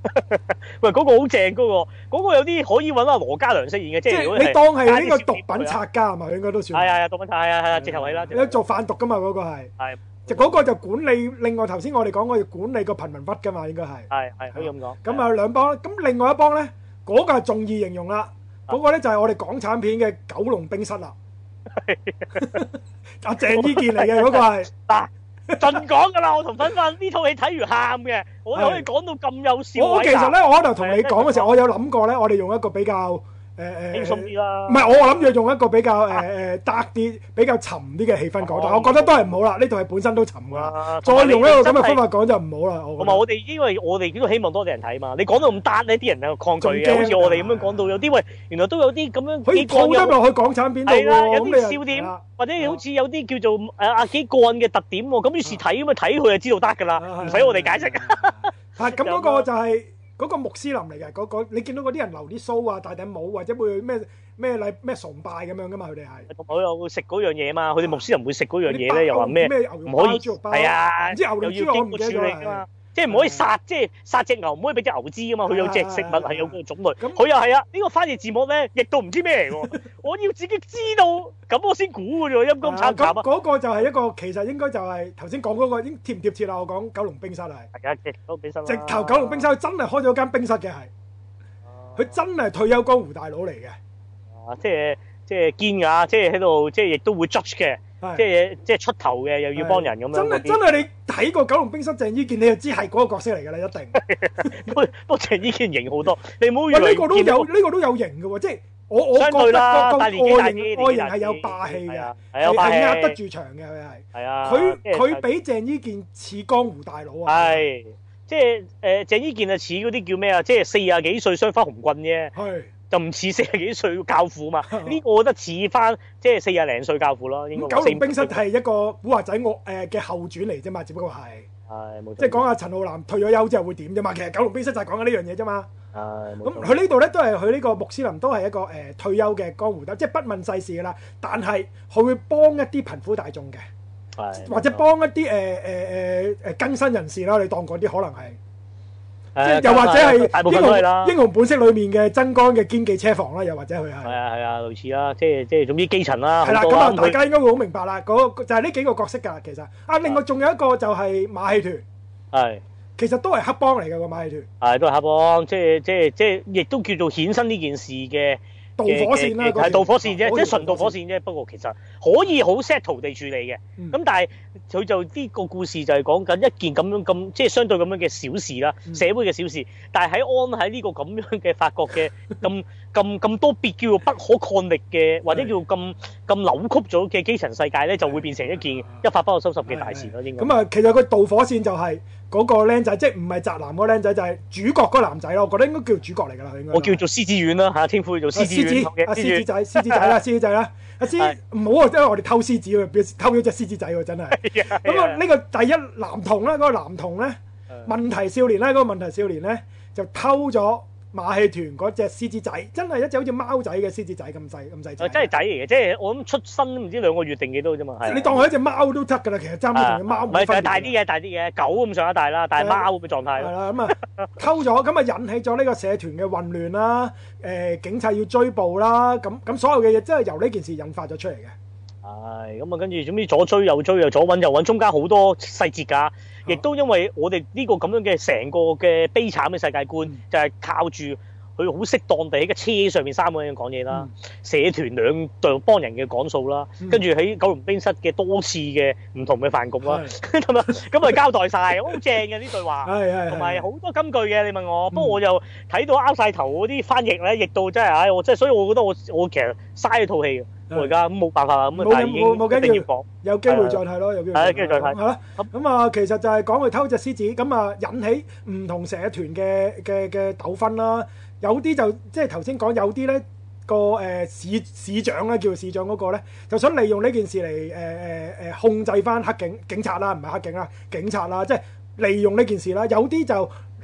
喂，嗰個好正，嗰個有啲可以揾阿羅嘉良飾演嘅，即係你當係呢個毒品拆家係嘛？應該都算。 係毒品拆係直頭係啦。 有做販毒噶嘛？嗰個係。係。就嗰個就管理，另外頭先我哋講過要管理個貧民窟噶嘛，應該係。係可以咁講。咁啊兩幫，咁另外一幫咧，嗰個係仲易形容啦。嗰個咧就係我哋港產片嘅九龍冰室啦。阿鄭伊健嚟嘅嗰個係。嗱，盡講噶啦，我同芬芬呢套戲睇完喊嘅，我可以講到咁有笑。 我其實咧，我喺度同你講嘅時候，我有諗過咧，我哋用一個比較。 輕鬆啲啦， 唔係我諗住用一個比較得啲、比較沉啲嘅氣氛講，但係我覺得都係唔好啦。呢套係本身都沉㗎，再用一個咁嘅方法講就唔好啦。 同埋我哋因為我哋都希望多啲人睇嘛，你講到咁得呢啲人就抗拒嘅，好似我哋咁樣講到有啲喂，原來都有啲咁樣可以套得落去港產片度喎， 有啲笑點或者好似有啲叫做幾個人嘅特點喎，咁於是睇咁啊睇佢就知道得㗎啦，唔使我哋解釋。 係咁嗰個就係。嗰個穆斯林嚟嘅，你見到嗰啲人留啲鬚啊、戴頂帽或者會咩崇拜咁樣噶嘛？佢哋係同埋有食嗰樣嘢嘛？佢哋穆斯林會食嗰樣嘢咧，又話咩唔可以？係啊，唔知牛肉豬我唔記得咗啦。即係唔可以殺，即係殺隻牛唔可以俾隻牛知啊嘛！佢有隻食物係有個種類，佢又係啊！呢個翻譯字幕咧，譯到唔知咩嚟喎。我要自己知道，咁我先估嘅啫喎，陰公慘慘啊！ 嗰個就係一個，其實應該就係頭先講嗰個，應貼唔貼切啦？我講九龍冰室係。係啊，九龍冰室。直頭九龍冰室，佢真係開咗間冰室嘅係。佢真係退休江湖大佬嚟嘅。 啊，即係堅㗎，即係喺度，即係亦都會 judge 嘅。即係出頭嘅，又要幫人咁樣。 真係你睇過《九龍冰室》鄭伊健，你就知係嗰個角色嚟㗎啦，一定。 不過鄭伊健型好多，你唔好以為呢個都有型嘅喎，即係我覺得個外形係有霸氣嘅，係壓得住場嘅佢係。係啊，佢比鄭伊健似江湖大佬啊。係， 即係鄭伊健啊似嗰啲叫咩啊？即係40幾歲雙花紅棍啫。係。就唔似40幾歲教父嘛？呢個我覺得似翻即係40零歲教父咯。應該九龍冰室係一個古惑仔嘅後傳嚟啫嘛，只不過係冇錯，即係講下陳浩南退咗休之後會點啫嘛。其實九龍冰室就係講緊呢樣嘢啫嘛。咁佢呢度咧都係佢呢個穆斯林都係一個退休嘅江湖鬥，即係不問世事噶啦。但係佢會幫一啲貧苦大眾嘅，或者幫一啲更新人士啦。你當嗰啲可能係。即係又或者係英雄本色裏面嘅曾江嘅堅記車房啦，又或者佢係係啊類似啦，即係總之基層啦。 係啦，咁啊大家應該會好明白啦。嗰就係呢幾個角色㗎，其實另外仲有一個就係馬戲團，係其實都係黑幫嚟㗎個馬戲團，係都係黑幫，即係亦都叫做衍生呢件事嘅。 導火線啦， 係導火線啫，即係純導火線啫。不過其實可以好 settle 地處理嘅。咁但係佢就呢個故事就係講緊一件咁即係相對咁樣嘅小事啦，社會嘅小事。但係喺呢個咁樣嘅法國嘅咁多別叫做不可抗力嘅，或者叫咁扭曲咗嘅基層世界咧，就會變成一件一發不可收拾嘅大事咯。應該咁啊， 其實個導火線就係嗰個僆仔，即係唔係宅男嗰個僆仔，就係主角嗰個男仔咯。我覺得應該叫主角嚟㗎啦，應該。 我叫做獅子丸啦嚇，天父叫做獅子丸。 獅子仔，獅子仔啦，獅子仔啦，阿獅唔好啊，因為我哋偷獅子喎，偷咗隻獅子仔喎，真係。咁啊，呢個第一男童咧，嗰個男童咧，問題少年咧，嗰個問題少年咧，就偷咗馬戲團嗰隻獅子仔，真係一隻好似貓仔嘅獅子仔咁細仔。 真係仔嚟嘅，即係我諗出生唔知2個月定幾多啫嘛。 你當佢一隻貓都得㗎啦，其實爭唔同嘅貓。 唔係，就大啲嘅，狗咁上下大啦，但係貓嘅狀態。係啦，咁啊偷咗，咁啊引起咗呢個社團嘅混亂啦。警察要追捕啦，咁所有嘅嘢真係由呢件事引發咗出嚟嘅。係，咁啊跟住總之左追右追又左揾右揾，中間好多細節㗎。亦都因為我哋呢個咁樣嘅成個嘅悲慘嘅世界觀，就係靠住佢好適當地喺個車上面3個人講嘢啦，社團2隊幫人嘅講數啦，跟住喺九龍冰室嘅多次嘅唔同嘅飯局啦，咁啊交代晒，好正嘅呢對話，同埋好多金句嘅。你問我，不過我又睇到拗晒頭嗰啲翻譯咧，譯到真係，我真係，所以我覺得我其實嘥咗套戲嘅。我而家咁冇辦法啦，咁啊但係已經一定要講，有機會再睇咯，有機會。係，跟住再睇。係啦，咁啊，其實就係講佢偷隻獅子，咁啊引起唔同社團嘅糾紛啦。有啲就即係頭先講，有啲咧個市長咧，叫做市長嗰個咧，就想利用呢件事嚟控制翻警察啦，唔係黑警啦，警察啦，即係利用呢件事啦。有啲就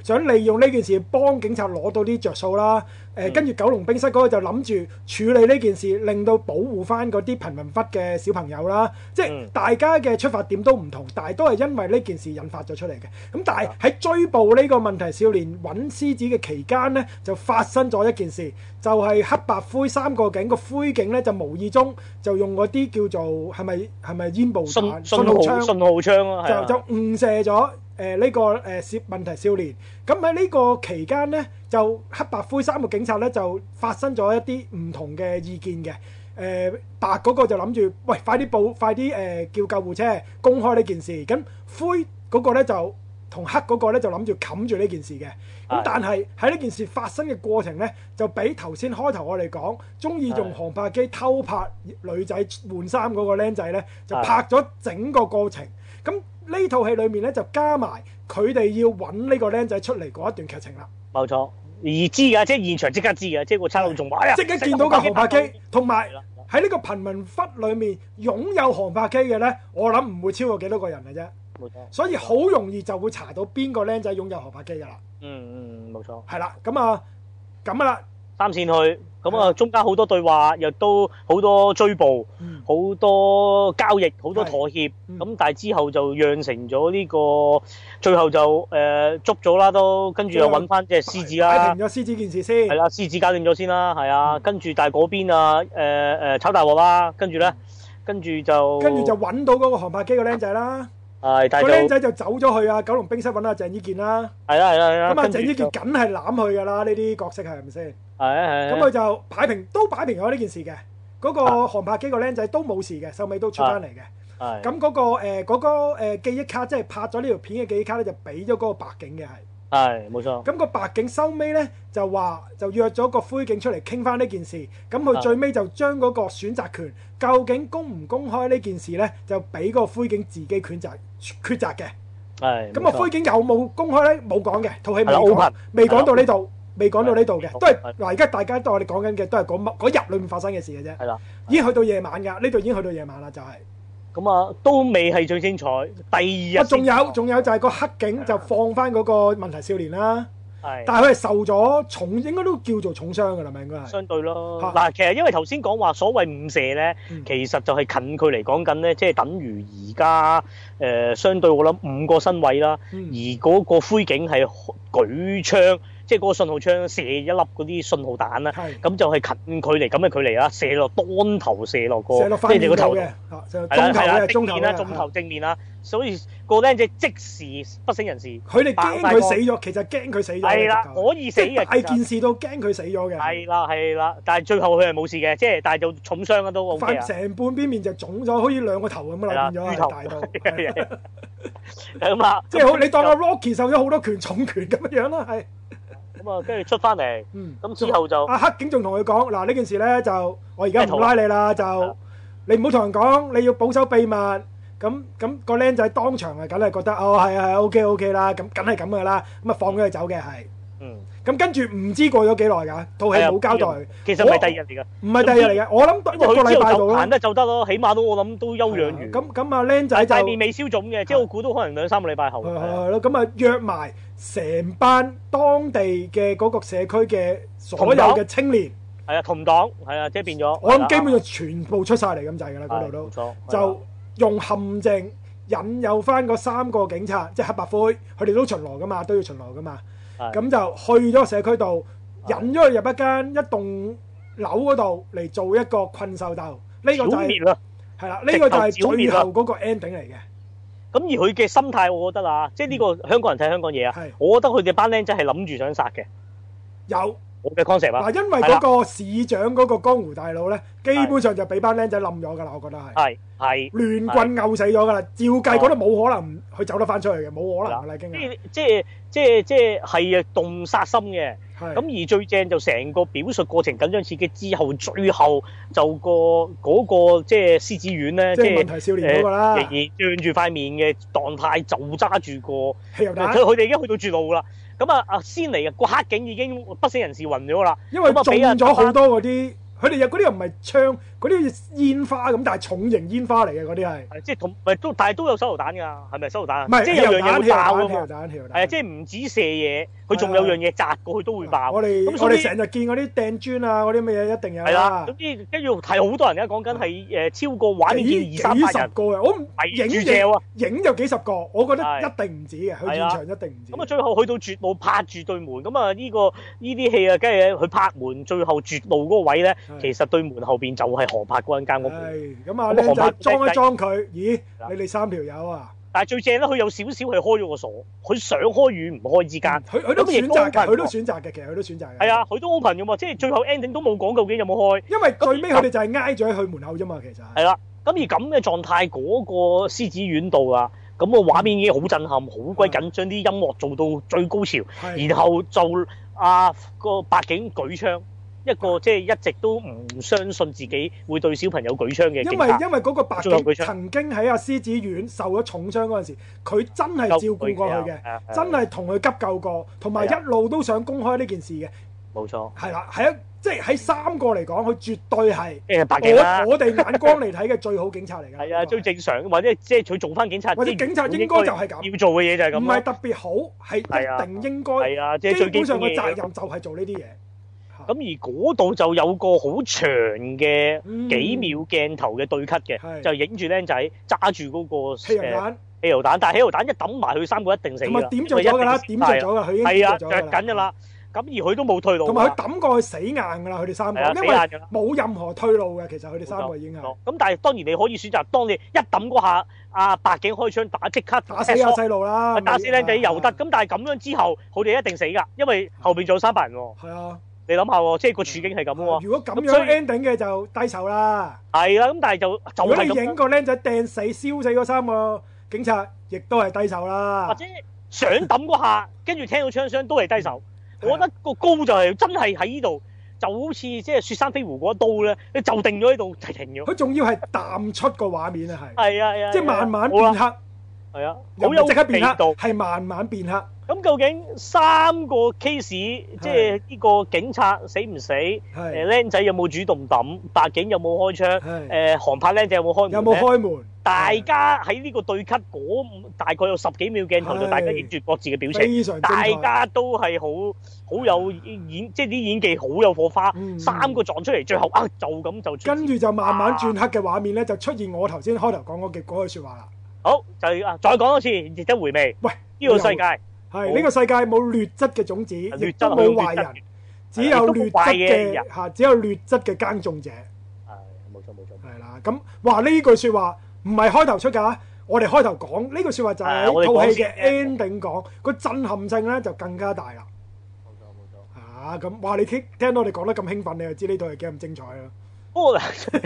想利用呢件事幫警察攞到啲着數啦。跟住九龍冰室嗰個就諗住處理呢件事，令到保護翻嗰啲貧民窟嘅小朋友啦。即係大家嘅出發點都唔同，但係都係因為呢件事引發咗出嚟嘅。咁但係喺追捕呢個問題少年揾獅子嘅期間呢，就發生咗一件事，就係黑白灰三個警，個灰警呢就無意中就用嗰啲叫做係咪煙霧彈信號槍啊，就誤射咗呢個問題少年。咁喺呢個期間呢，就黑白灰三個警察呢就發生咗一啲唔同嘅意見嘅。白嗰個就諗住喂，快啲叫救護車公開呢件事。咁灰嗰個呢就同黑嗰個呢就諗住冚住呢件事嘅。咁但係喺呢件事發生嘅過程呢，就比頭先開頭我哋講中意用航拍機偷拍女仔換衫嗰個僆仔呢，就拍咗整個過程。咁呢套戲裏面呢，就加埋佢哋要揾呢個僆仔出嚟嗰一段劇情啦。 冇錯，而知㗎，即係現場即刻知㗎，即係個差佬仲話即刻見到個航拍機，同埋喺呢個貧民窟裏面擁有航拍機嘅呢，我諗唔會超過幾多個人嘅啫。冇錯，所以好容易就會查到邊個僆仔擁有航拍機㗎啦。 冇錯。係啦，咁啊啦， 三線去。咁啊，中間好多對話，又都好多追捕，好多交易，好多妥協。咁但係之後就釀成咗呢個，最後就捉咗啦，都跟住又揾翻隻獅子啦。 擺平咗獅子件事先。係啦，獅子搞掂咗先啦，係啊。跟住但係嗰邊啊，炒大鑊啦。跟住咧，跟住就揾到嗰個航拍機個僆仔啦。 係，但係個僆仔就走咗去啊九龍冰室揾阿鄭伊健啦。係啦。咁啊，鄭伊健梗係攬佢㗎啦，呢啲角色係咪先？咁佢就擺平咗呢件事嘅。嗰個航拍機個僆仔都冇事嘅，收尾都出翻嚟嘅。咁嗰個記憶卡，即係拍咗呢條片嘅記憶卡咧，就俾咗嗰個白警嘅係。係，冇錯。咁個白警收尾咧就約咗個灰警出嚟傾翻呢件事。咁佢最尾就將嗰個選擇權，究竟公唔公開呢件事咧，就俾個灰警自己抉擇嘅。係。咁啊，灰警有冇公開咧？冇講嘅，套戲未講到呢度。未講到呢度嘅，都係嗱，而家大家都我哋講緊嘅都係嗰日裏面發生嘅事嘅啫。係啦，已經去到夜晚㗎，呢度已經去到夜晚啦，就係。咁啊，都未係最精彩。第二日仲有就係個黑警就放翻嗰個問題少年啦。係。但係佢係受咗重，應該都叫做重傷㗎啦，咪應該係。相對咯。嗱，其實因為頭先講話所謂誤射咧，其實就係近距離講緊咧，即係等於而家相對我諗5個身位啦，而嗰個灰警係舉槍。即係嗰個信號槍射一粒嗰啲信號彈啦，咁就係近距離咁嘅距離啦，射落當頭射落個，即係你個頭嘅，係啦，正面啦，中頭正面啦，所以個僆仔即時不省人事。佢哋驚佢死咗，其實驚佢死咗。係啦，可以死嘅，大件事都驚佢死咗嘅。係啦，但係最後佢係冇事嘅，即係但係就重傷啊都 OK 啊。成半邊面就腫咗，好似兩個頭咁啦，變咗大到。咁啊，即係好，你當阿 Rocky 受咗好多拳重拳咁樣啦，係。咁啊，跟住出翻嚟，咁之後就阿黑警仲同佢講：嗱，呢件事咧就我而家唔拉你啦，就你唔好同人講，你要保守秘密。咁個僆仔當場係梗係覺得係 OK 啦，咁梗係咁噶啦，咁啊放咗佢走嘅係。咁跟住唔知過咗幾耐㗎，套戲冇交代。其實唔係第二日嚟㗎，唔係第二日嚟嘅，我諗一個禮拜度咯。行得就得咯，起碼都我諗都休養完。咁啊，僆仔就面未消腫嘅，即係我估都可能2-3個禮拜後。係咯，咁啊約埋成班當地嘅嗰個社區嘅所有嘅青年。係啊，同黨係啊，即係變咗。我諗基本上全部出晒嚟咁滯㗎啦，嗰度都。冇錯。就用陷阱引誘翻嗰3個警察，即係黑白灰，佢哋都巡邏㗎嘛，都要巡邏㗎嘛。咁就去咗社區度，引咗佢入一棟樓嗰度嚟做一個困獸鬥。呢個就係係啦，呢個就係最後嗰個 ending 嚟嘅。咁而佢嘅心態，我覺得啊，即係呢個香港人睇香港嘢啊，我覺得佢哋班僆仔係諗住想殺嘅。有我嘅 concept 啊。嗱，因為嗰個市長嗰個江湖大佬咧，基本上就俾班僆仔冧咗㗎啦，我覺得係。係亂棍毆死咗㗎啦，照計嗰度冇可能佢走得翻出去嘅，冇可能㗎啦，已經。即係動殺心嘅。咁而最正就成個表述過程緊張刺激之後，最後就嗰個即係獅子丸咧，即係問題少年嗰個啦，仍然脹住塊面嘅狀態就揸住個汽油彈，佢哋已經去到絕路啦。咁啊先嚟個黑警已經不省人事暈咗啦，因為中咗好多嗰啲，佢哋有嗰啲又唔係槍， 嗰啲煙花咁，但係重型煙花嚟嘅嗰啲係。 即係同咪都，但係都有手榴彈㗎，係咪手榴彈啊？ 唔係， 即係有樣嘢會爆㗎嘛。 係啊，即係唔止射嘢，佢仲有樣嘢擲過去都會爆。 我哋成日見嗰啲掟磚啊，嗰啲乜嘢一定有。 係啦，總之跟住係好多人而家講緊係超過畫面見200-300人。 個嘅，我唔影就幾十個，我覺得一定唔止嘅，去現場一定唔止。 咁啊，最後去到絕路拍住對門，咁啊呢啲戲啊，梗係佢拍門最後絕路嗰個位咧，其實對門後邊就係何柏嗰間屋。 咁啊，靚仔裝一裝佢，咦？你哋3條友啊？ 但係最正咧，佢有少少係開咗個鎖，佢想開與唔開之間， 佢都選擇嘅，佢都選擇嘅，其實佢都選擇嘅。 係啊，佢都 open 嘅嘛，即係最後 ending 都冇講究竟有冇開。 因為最尾佢哋就係挨咗喺佢門口啫嘛，其實。 係啦，咁而咁嘅狀態，嗰個獅子院度啊，咁個畫面已經好震撼，好鬼緊張，啲音樂做到最高潮，然後就個白警舉槍。一個即係一直都唔相信自己會對小朋友舉槍嘅警察， 因為嗰個白警曾經喺獅子院受咗重傷嗰陣時，佢真係照顧過佢嘅，真係同佢急救過，同埋一路都想公開呢件事嘅。 冇錯， 係啦，係即係喺3個嚟講，佢絕對係白警啦。 我哋眼光嚟睇嘅最好警察嚟㗎。 係啊，最正常，或者即係佢做翻警察， 或者警察應該就係咁要做嘅嘢就係咁，唔係特別好，係一定應該。 係啊，即係最基本嘅責任就係做呢啲嘢。 咁而嗰度就有個好長嘅幾秒鏡頭嘅對 cut 嘅，就影住僆仔揸住嗰個汽油彈， 但係汽油彈一抌埋佢3個一定死㗎。 咁啊點著咗㗎啦，點著咗㗎，佢已經點著咗㗎啦。 着緊㗎啦，咁而佢都冇退路。 同埋佢抌過去死硬㗎啦，佢哋3個，因為冇任何退路嘅，其實佢哋3個已經係。 咁但係當然你可以選擇，當你一抌嗰下，白警開槍即刻打死個細路啦， 打死僆仔又得。咁但係咁樣之後，佢哋一定死㗎，因為後邊仲有300人喎。 係啊。 你諗下喎，即係個處境係咁喎。 如果咁樣 ending 嘅就低手啦。 係啦，咁但係就如果你影個僆仔掟死、燒死嗰3個警察，亦都係低手啦。 或者想抌嗰下，跟住聽到槍聲都係低手。我覺得個高就係真係喺呢度，就好似即係雪山飛狐嗰一刀咧，你就定咗喺度停咗。 佢仲要係淡出個畫面啊，係。 係啊， 即係慢慢變黑。 係啊， 好有即刻變黑，係慢慢變黑。 咁究竟3個 case， 即係呢個警察死唔死？僆仔有冇主動抌？白警有冇開槍？韓拍僆仔有冇開門？ 有冇開門？ 大家喺呢個對 cut 嗰大概有10幾秒鏡頭，就大家影住各自嘅表情，大家都係好有演，即係啲演技好有火花。3個撞出嚟，最後就咁就跟住就慢慢轉黑嘅畫面咧，就出現我頭先開頭講嗰句説話啦。 好，就再講多次，值得回味。喂，呢個世界係呢個世界冇劣質嘅種子，亦都冇壞人，只有劣質嘅嚇，只有劣質嘅耕種者。 係，冇錯冇錯。係啦，咁話呢句説話唔係開頭出㗎，我哋開頭講呢句説話就係喺套戲嘅 ending 講，個震撼性咧就更加大啦。 冇錯冇錯。 咁話你聽到我哋講得咁興奮，你就知呢套係幾咁精彩啦。 不過，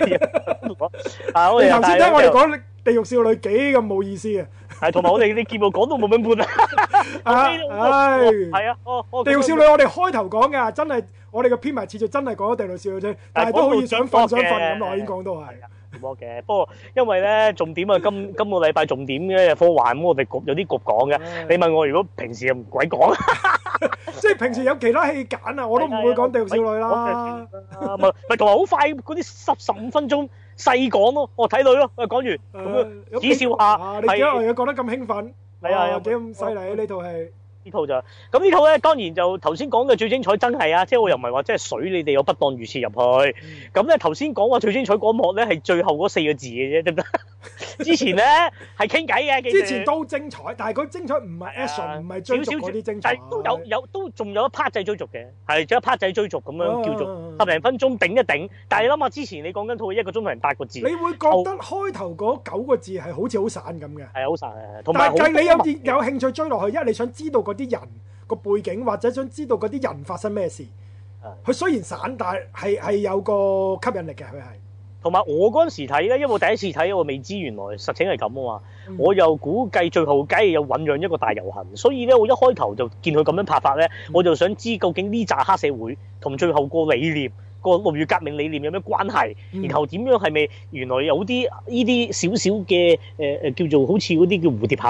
你頭先聽我哋講地獄少女幾咁冇意思啊！ 係，同埋我哋啲節目講到冇乜半啊！係啊， 地獄少女我哋開頭講㗎，真係我哋嘅編埋次序真係講咗地獄少女啫，但係都好似想瞓咁耐，已經講到係。 嘅，不過因為咧重點啊，今個禮拜重點嘅科幻，咁我哋有啲局講嘅。你問我如果平時又唔鬼講， 即係平時有其他戲揀啊，我都唔會講地獄少女啦。 咪同埋好快嗰啲15分鐘細講咯，我睇女咯，講完咁樣指笑下。 你幾耐嘢講得咁興奮？係啊，幾咁犀利呢套戲？ 呢套就咁呢套咧，當然就頭先講嘅最精彩真係啊！即係我又唔係話即係水你哋有不當預設入去。咁咧頭先講話最精彩嗰幕咧係最後嗰4個字嘅啫，得唔得？之前咧係傾偈嘅， 之前都精彩，但係佢精彩唔係 action，唔係追逐嗰啲精彩， 都仲有一 part 仔追逐嘅，係仲有一 part 仔追逐咁樣叫做10零分鐘頂一頂。但係你諗下之前你講緊套1個鐘頭8個字， 你會覺得開頭嗰9個字係好似好散咁嘅， 係好散嘅。 但係你有興趣追落去，因為你想知道啲人個背景，或者想知道嗰啲人發生咩事。佢雖然散，但係有個吸引力嘅。佢係同埋我嗰陣時睇咧，因為我第一次睇，我未知原來實情係咁啊嘛。我又估計最後梗係有醖釀一個大遊行，所以咧我一開頭就見佢咁樣拍法咧，我就想知究竟呢紮黑社會同最後個理念、個6月革命理念有咩關係？然後點樣係咪原來有啲呢啲少少嘅叫做好似嗰啲叫蝴蝶效應？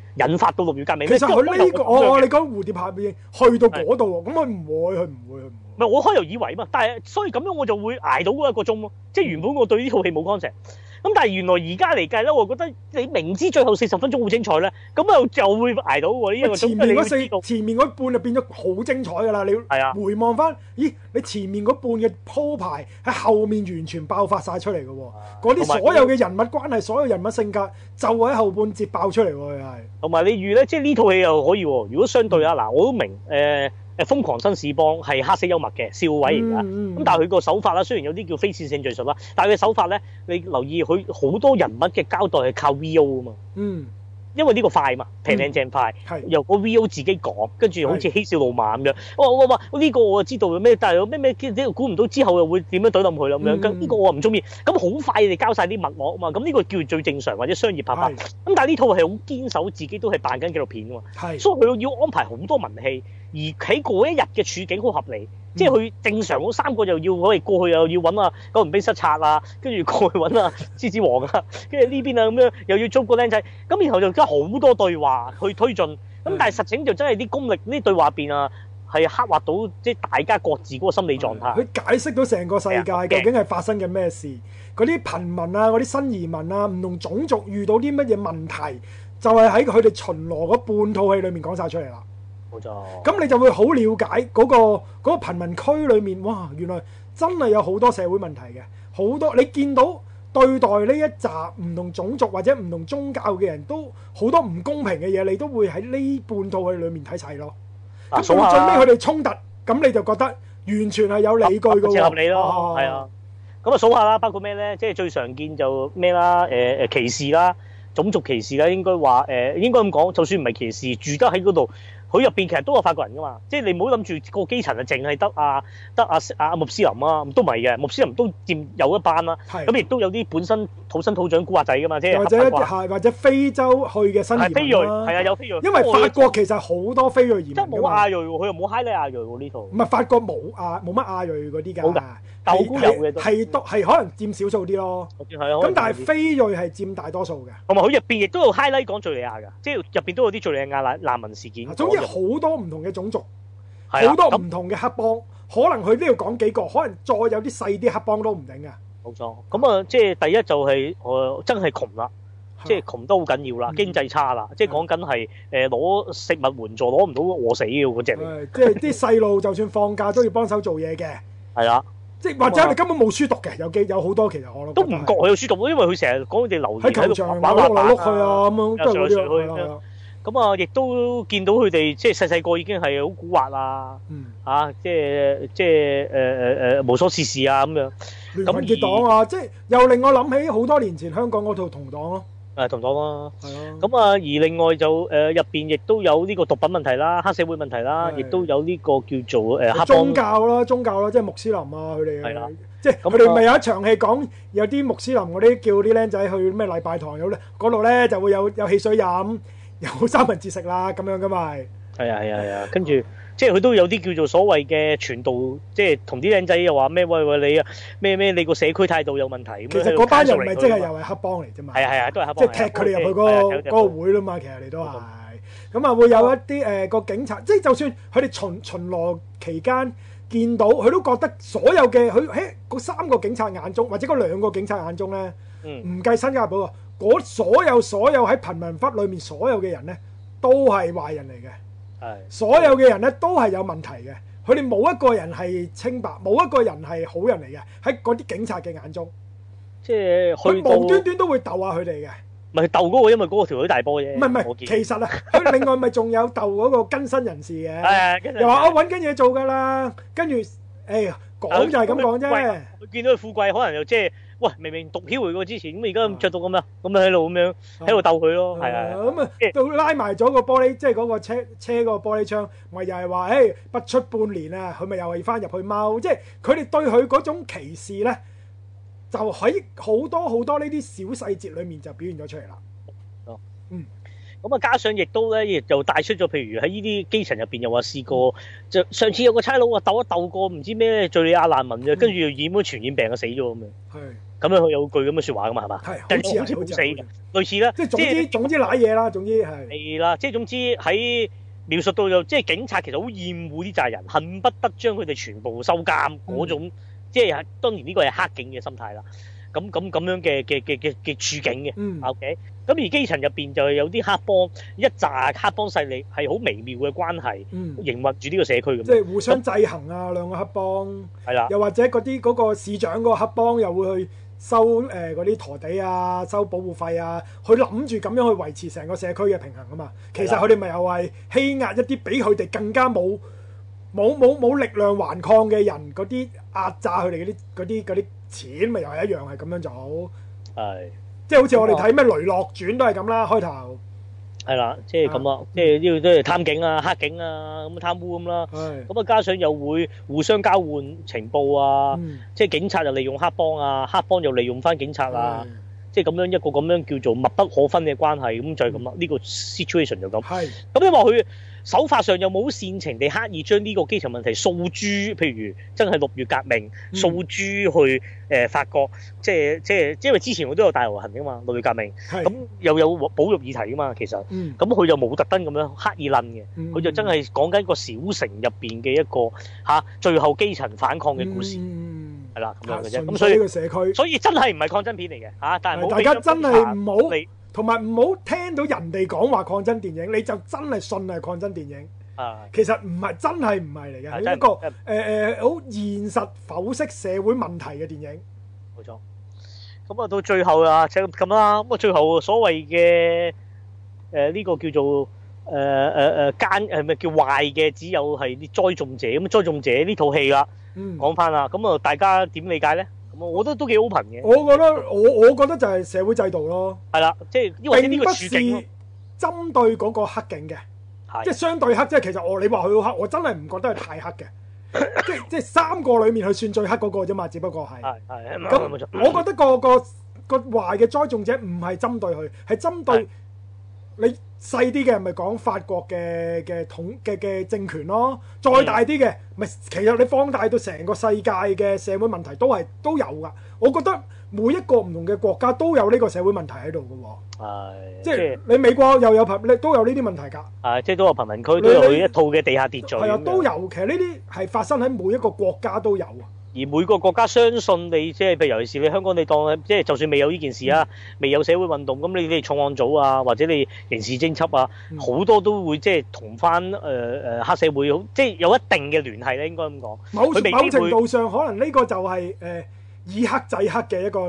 引發到6月革命。 其實佢呢個你講蝴蝶效應去到嗰度喎，咁佢唔會。 唔係我開頭以為嘛，但係所以咁樣我就會捱到嗰1個鐘咯。即係原本我對呢套戲冇 concept。咁但係原來而家嚟計咧，我覺得你明知最後40分鐘好精彩咧，咁就會捱到喎呢1個鐘。 前面嗰半就變咗好精彩㗎啦！你回望翻，咦？你前面嗰半嘅鋪排喺後面完全爆發晒出嚟嘅喎，嗰啲所有嘅人物關係、所有人物性格就喺後半節爆出嚟喎，係。同埋你預咧，即係呢套戲又可以喎。如果相對啊，嗱，我都明瘋狂紳士幫係黑色幽默嘅笑位嚟㗎，咁但係佢個手法啦，雖然有啲叫非線性敘述啦，但係佢手法咧，你留意佢好多人物嘅交代係靠 VO 啊嘛，因為呢個快嘛，平靚正快，由個 VO 自己講，跟住好似嬉笑怒罵咁樣，哇呢個我知道咩，但係咩估唔到之後又會點樣懟冧佢咁樣，咁呢個我唔中意，咁好快你交晒啲脈絡啊嘛，咁呢個叫最正常或者商業拍法，咁但係呢套係好堅守自己都係扮緊紀錄片㗎嘛，所以佢要安排好多文戲。而喺嗰一日嘅處境好合理，即係佢正常嗰3個又要過去又要揾九龍冰室賊啊，跟住過去揾獅子王啊，跟住呢邊啊咁樣又要捉個僆仔，咁然後就加好多對話去推進，咁但係實情就真係啲功力呢對話邊啊係刻畫到即係大家各自嗰個心理狀態。佢解釋到成個世界究竟係發生緊咩事，嗰啲貧民啊、嗰啲新移民啊、唔同種族遇到啲乜嘢問題，就係喺佢哋巡邏嗰半套戲裡面講晒出嚟啦。 冇錯， 咁你就會好了解嗰個貧民區裏面，哇！原來真係有好多社會問題嘅，好多你見到對待呢一紮唔同種族或者唔同宗教嘅人都好多唔公平嘅嘢，你都會喺呢半套戲裏面睇齊咯。咁到最尾佢哋衝突，咁你就覺得完全係有理據嘅喎， 合理咯，係啊。咁數下啦，包括咩咧？即係最常見就咩啦？歧視啦，種族歧視啦，應該話應該咁講，就算唔係歧視，住得喺嗰度。佢入邊其實都有法國人噶嘛，即係你唔好諗住個基層啊，淨係得阿穆斯林啊，都唔係嘅，穆斯林都佔有一班啦。咁亦都有啲本身土生土長古惑仔噶嘛，即係或者非洲去嘅新移民啦。 非裔係啊，有非裔。 因為法國其實好多非裔移民。 即係冇亞裔喎，佢又冇嗨你亞裔喎呢套。 唔係法國冇乜亞裔嗰啲㗎。 冇㗎，但我估有嘅都。 係可能佔少數啲咯。咁但係非裔係佔大多數嘅。 同埋佢入邊亦都有 highlight 講敍利亞㗎，即係入邊都有啲敍利亞難民事件。 好多唔同嘅種族，好多唔同嘅黑幫，可能佢都要講幾個，可能再有啲細啲黑幫都唔定啊。 冇錯，咁啊，即係第一就係真係窮啦，即係窮得好緊要啦，經濟差啦，即係講緊係攞食物援助攞唔到餓死嘅嗰隻嚟。 即係啲細路就算放假都要幫手做嘢嘅。 係啦， 即係或者你根本冇書讀嘅，有好多其實我都唔覺佢有書讀，因為佢成日講佢哋留喺球場玩嚟碌去啊咁樣，都係嗰啲。 咁啊，亦都見到佢哋即係細細個已經係好蠱惑啊，即係無所事事啊咁樣。 聯盟結黨啊，即係又令我諗起好多年前香港嗰套同黨咯。 同黨啦。係啊。咁啊，而另外就入邊亦都有呢個毒品問題啦、黑社會問題啦，亦都有呢個叫做黑幫。宗教啦，即係穆斯林啊，佢哋。係啦。即係佢哋咪有一場戲講有啲穆斯林嗰啲叫啲僆仔去咩禮拜堂嗰度咧就會有汽水飲。有三文治食啦，咁樣噶嘛係啊，跟住即係佢都有啲叫做所謂嘅傳道，即係同啲靚仔又話咩喂你啊咩你個社區態度有問題。 其實嗰班人咪即係又係黑幫嚟啫嘛。係啊，都係黑幫。 即係踢佢哋入去嗰個會啦嘛，其實你都係。咁啊會有一啲個警察，即係就算佢哋巡邏期間見到，佢都覺得所有嘅佢喺嗰3個警察眼中，或者嗰2個警察眼中咧，唔計新加坡啊。所有喺貧民窟裏面所有嘅人咧，都係壞人嚟嘅。所有嘅人咧都係有問題嘅。佢哋冇一個人係清白，冇一個人係好人嚟嘅。喺嗰啲警察嘅眼中， 即係佢無端端都會鬥下佢哋嘅。 唔係鬥嗰個，因為嗰個條女大波啫。 唔係，其實啊，佢另外咪仲有鬥嗰個更新人士嘅。又話我揾緊嘢做㗎啦，跟住講就係咁講啫。 佢見到佢富貴，可能又即係。喂，明明毒梟嚟過之前，咁而家咁着到咁樣，咁喺度咁樣喺度鬥佢咯，係啊。 咁啊，到拉埋咗個玻璃，即係嗰個車嗰個玻璃窗，咪又係話，不出半年啊，佢咪又係翻入去踎，即係佢哋對佢嗰種歧視咧，就喺好多呢啲小細節裏面就表現咗出嚟啦。 咁啊，加上亦都咧，亦就帶出咗，譬如喺呢啲基層入邊又話試過，就上次有個差佬話鬥一鬥過唔知咩敍利亞難民啫，跟住又染咗傳染病啊死咗咁樣。 咁樣佢有句咁嘅説話噶嘛，係嘛？ 係， 好似冇死嘅，類似啦。 即係總之揦嘢啦，總之係。 係啦，即係總之喺描述到即係警察其實好厭惡啲債人，恨不得將佢哋全部收監嗰種，即係當然呢個係黑警嘅心態啦。咁樣嘅處境嘅，OK。咁而基層入邊就有啲黑幫，一紮黑幫勢力係好微妙嘅關係，營運住呢個社區咁。即係互相制衡啊，兩個黑幫。 係啦。 又或者嗰個市長嗰個黑幫又會去收嗰啲陀地啊，收保護費啊，佢諗住咁樣去維持成個社區嘅平衡啊嘛。其實佢哋咪又係欺壓一啲比佢哋更加冇力量頑抗嘅人，嗰啲壓榨佢哋嗰啲錢，咪又係一樣係咁樣做。係。即係好似我哋睇咩《雷洛傳》都係咁啦，開頭係啦，即係咁啊，即係呢個都係貪警啊、黑警啊咁貪污咁啦。咁啊，加上又會互相交換情報啊，即係警察就利用黑幫啊，黑幫又利用翻警察啊，即係咁樣一個咁樣叫做密不可分嘅關係，咁就係咁啦。呢個 situation 就咁。咁因為佢手法上又冇煽情地刻意將呢個基層問題訴諸，譬如真係6月革命訴諸去法國，即係因為之前我都有大遊行㗎嘛，6月革命，咁又有保育議題㗎嘛，其實，咁佢就冇特登咁樣刻意論嘅，佢就真係講緊個小城入邊嘅一個最後基層反抗嘅故事，係啦咁樣嘅啫。咁所以呢個社區，所以真係唔係抗爭片嚟嘅但係大家真係唔好。同埋唔好聽到人哋講話抗爭電影，你就真係信係抗爭電影。其實唔係，真係唔係嚟嘅，係一個好現實剖析社會問題嘅電影。 冇錯。咁啊，到最後啊，就咁啦。咁啊，最後所謂嘅呢個叫做咪叫壞嘅，只有係啲栽種者。咁栽種者呢套戲啦，講翻啦。咁啊，大家點理解咧？我覺得都幾 open 嘅。 我覺得就係社會制度咯。 係啦，即係因為呢個處境並不是針對嗰個黑警嘅，即係相對黑。即係其實你話佢好黑，我真係唔覺得係太黑嘅。即係3個裡面佢算最黑嗰個啫嘛，只不過係。咁我覺得個壞嘅栽種者唔係針對佢，係針對你細啲嘅，咪講法國嘅政權咯。再大啲嘅，咪其實你放大到成個世界嘅社會問題都有噶。我覺得每一個唔同嘅國家都有呢個社會問題喺度嘅喎。即係你美國又有都有呢啲問題㗎。即係都有貧民區，都有一套嘅地下秩序。係啊，都有。其實呢啲係發生喺每一個國家都有啊。 而每個國家相信你，即係譬如尤其是你香港，你當即係就算未有呢件事啊，未有社會運動，咁你哋重案組啊，或者你刑事偵緝啊，好多都會即係同翻黑社會，即係有一定嘅聯繫咧，應該咁講。某程度上，可能呢個就係以黑制黑嘅一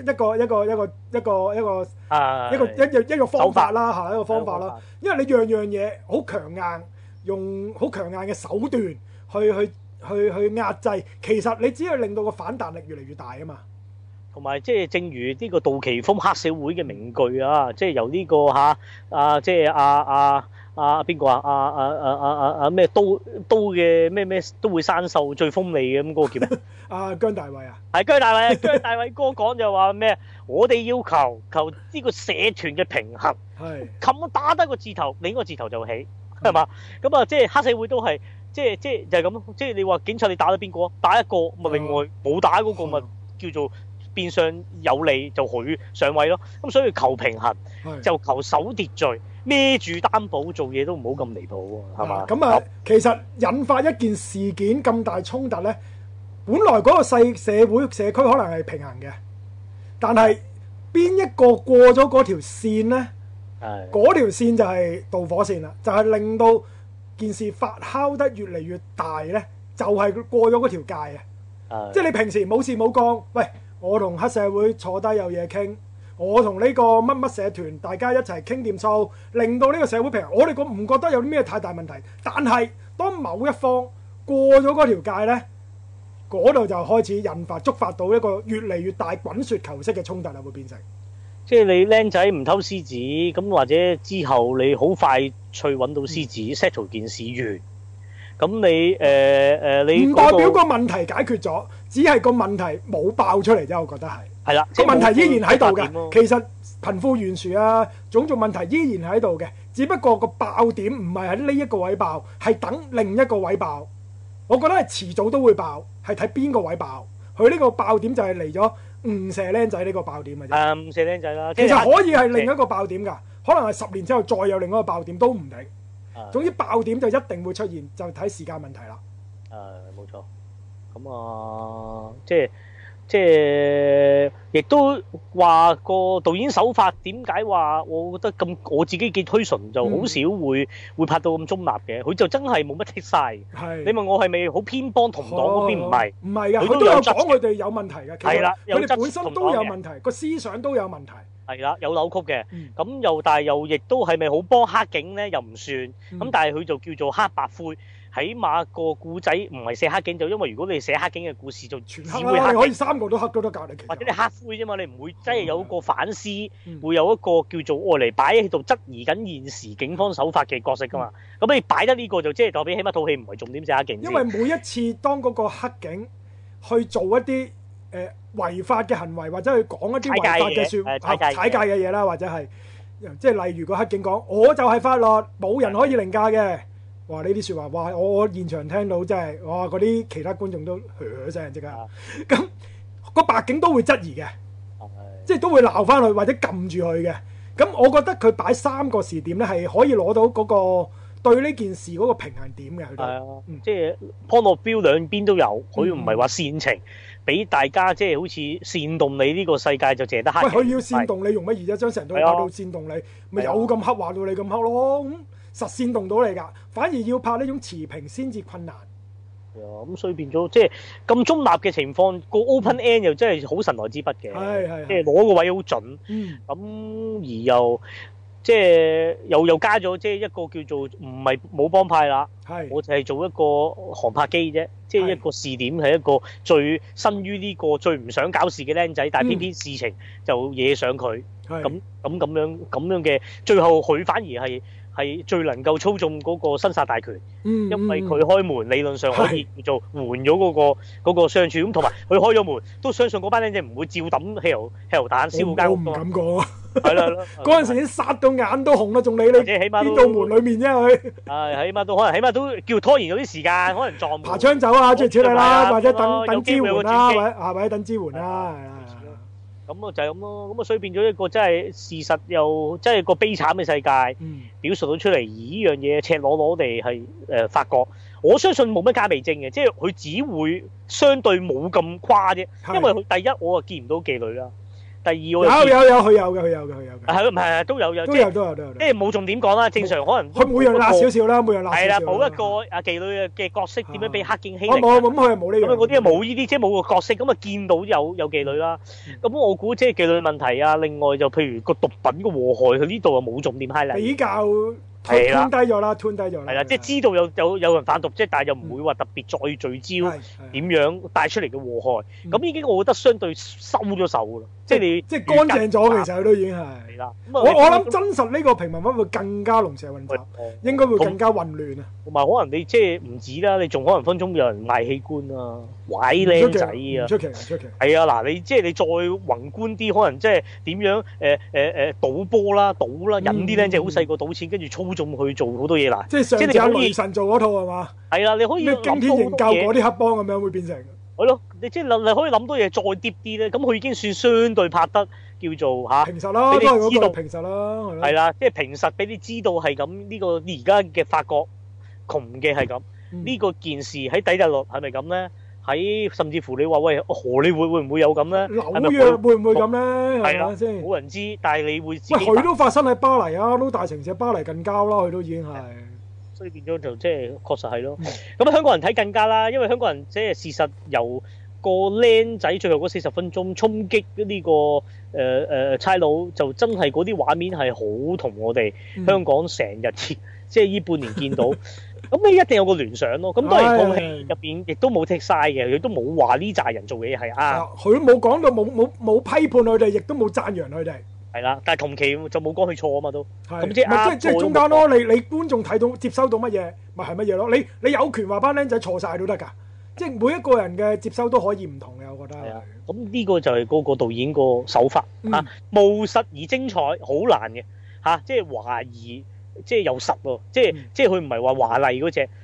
個方法啦嚇，一個方法啦。因為你樣樣嘢好強硬，用好強硬嘅手段去壓制，其實你只係令到個反彈力越嚟越大啊嘛。 同埋即係正如呢個杜琪峰黑社會嘅名句啊，即係由呢個即係邊個咩刀嘅咩都會生鏽最鋒利嘅咁嗰個叫咩？ 姜大衛啊， 係姜大衛哥講就話咩？我哋要求呢個社團嘅平衡，冚打得個字頭，另一個字頭就起，係嘛？咁啊，即係黑社會都係。即係就係咁咯，即係你話警察你打咗邊個？打一個咪另外冇打嗰個咪叫做變相有利就佢上位咯。咁所以求平衡就求守秩序，孭住擔保做嘢都唔好咁離譜喎，係嘛？ 咁啊，其實引發一件事件咁大衝突咧，本來嗰個社會社區可能係平衡嘅，但係邊一個過咗嗰條線咧？嗰條線就係導火線啦，就係令到件事發酵得越嚟越大呢，就係過咗嗰條界啊！即係你平時冇事冇幹，喂，我同黑社會坐低有嘢傾，我同呢個乜乜社團大家一齊傾掂數，令到呢個社會平衡。我哋唔覺得有啲咩太大問題，但係當某一方過咗嗰條界呢，嗰度就開始觸發到一個越嚟越大滾雪球式嘅衝突啦，會變成。 即係你僆仔唔偷獅子，咁或者之後你好快去揾到獅子 settle 件事完，咁你唔代表個問題解決咗，只係個問題冇爆出嚟啫。我覺得係啦，個問題依然喺度嘅。其實貧富懸殊啊，種種問題依然喺度嘅，只不過個爆點唔係喺呢一個位爆，係等另一個位爆。我覺得係遲早都會爆，係睇邊個位爆。佢呢個爆點就係嚟咗誤射僆仔呢個爆點嘅啫。 誤射僆仔啦， 其實可以係另一個爆點㗎，可能係10年之後再有另一個爆點都唔定。總之爆點就一定會出現，就睇時間問題啦。 冇錯。咁即係亦都話個導演手法點解話我覺得咁，我自己幾推崇就好少會拍到咁中立嘅，佢就真係冇乜剔晒。你問我係咪好偏幫同黨嗰邊？唔係㗎，佢都有講佢哋有問題嘅。係啦，佢哋本身都有問題，個思想都有問題。係啦，有扭曲嘅。咁但係又亦都係咪好幫黑警咧？又唔算。咁但係佢就叫做黑白灰。起碼個故仔唔係寫黑警，就因為如果你寫黑警嘅故事就只會黑，你可以3個都黑都得㗎，或者你黑灰啫嘛，你唔會真係有一個反思，會有一個叫做愛嚟擺喺度質疑緊現時警方手法嘅角色㗎嘛。咁你擺得呢個就即係代表起碼套戲唔係重點寫黑警。因為每一次當嗰個黑警去做一啲違法嘅行為，或者去講一啲違法嘅踩界嘅嘢啦，或者係即係例如個黑警講我就係法律，冇人可以凌駕嘅。哇！呢啲説話，哇！我現場聽到真係，哇！嗰啲其他觀眾都噓聲即刻。咁個白警都會質疑嘅，即係都會鬧翻佢或者撳住佢嘅。咁我覺得佢擺3個時點咧，係可以攞到嗰個對呢件事嗰個平衡點嘅。係啊，即係 point of view 兩邊都有，佢唔係話煽情，俾大家即係好似煽動你呢個世界就淨係得黑。喂，佢要煽動你用乜嘢啫？將成套拍到煽動你，咪有咁黑話到你咁黑咯？實煽動到你㗎，反而要拍呢種持平先至困難。咁所以變咗即係咁中立嘅情況，個 open end 又真係好神來之筆嘅，即係攞個位好準。咁而又即係又加咗即係一個叫做唔係冇幫派啦，我就係做一個航拍機啫，即係一個視點係一個最身於呢個最唔想搞事嘅僆仔，但係偏偏事情就惹上佢。咁樣嘅，最後佢反而係最能夠操縱嗰個生殺大權，因為佢開門理論上可以叫做緩咗嗰個相處，咁同埋佢開咗門都相信嗰班僆仔唔會照抌汽油彈燒間屋。我唔敢講啊！係啦，嗰陣時已經殺到眼都紅啦，仲理你邊道門裡面啫佢。起碼都可能，起碼都叫拖延咗啲時間，可能撞爬窗走啊，諸如此類啦，或者等支援啦，或者等支援啦，係啦。咁就係咁咯，咁所以變咗一個真係事實又真係個悲慘嘅世界，表述到出嚟。而呢樣嘢赤裸裸地係發覺，我相信冇乜加味精嘅，即係佢只會相對冇咁誇啫。因為佢第一我見唔到妓女啦。第二我有佢有嘅係唔係都有即係冇重點講啦。正常可能佢每樣辣少少啦，每樣辣少少。係啦，冇一個妓女嘅角色點樣俾黑警欺凌？冇咁佢係冇呢樣。咁嗰啲冇呢啲，即係冇個角色咁啊，見到有妓女啦。咁我估即係妓女問題啊。另外就譬如個毒品嘅禍害，佢呢度啊冇重點 highlight。比較吞低咗啦，係啦，即係知道有人販毒，即係但係又唔會話特別再聚焦點樣帶出嚟嘅禍害。咁已經我覺得相對收咗手㗎啦。即係你即係乾淨咗，其實佢都已經係啦。我諗真實呢個平民化會更加龍蛇混雜，應該會更加混亂啊。同埋可能你即係唔止啦，你仲可能分鐘有人賣器官啊、拐靚仔啊，出奇。係啊，嗱，你即係你再宏觀啲，可能即係點樣賭波啦、賭啦，引啲靚仔好細個賭錢，跟住操縱去做好多嘢啦。即係上次阿雷神做嗰套係嘛？係啦，你可以咩驚天營救嗰啲黑幫咁樣會變成。係咯，你即係你可以諗多嘢再 deep 啲咧，咁佢已經算相對拍得叫做嚇平實啦，俾你知道平實啦，係啦，即係平實俾你知道係咁呢個而家嘅法國窮嘅係咁，呢個件事喺底特律係咪咁咧？喺甚至乎你話喂荷里活會唔會有咁咧？紐約會唔會咁咧？係啦，先冇人知，但係你會知。喂，佢都發生喺巴黎啊，都大城市巴黎近郊啦，佢都已經係。所以變咗就即係確實係咯。咁香港人睇更加啦，因為香港人即係事實由個僆仔最後嗰40分鐘衝擊呢個差佬，就真係嗰啲畫面係好同我哋香港成日即係呢半年見到。咁你一定有個聯想咯。咁當然套戲入邊亦都冇剔晒嘅，亦都冇話呢扎人做嘅嘢係啱。佢都冇講到冇批判佢哋，亦都冇讚揚佢哋。係啦，但係同期就冇講佢錯啊嘛都，咁即係中間咯。你觀眾睇到接收到乜嘢，咪係乜嘢咯？你有權話班僆仔錯晒都得㗎，即係每一個人嘅接收都可以唔同嘅，我覺得。係啊，咁呢個就係嗰個導演個手法嚇，務實而精彩，好難嘅嚇，即係懷疑，即係有實喎，即係佢唔係話華麗嗰隻。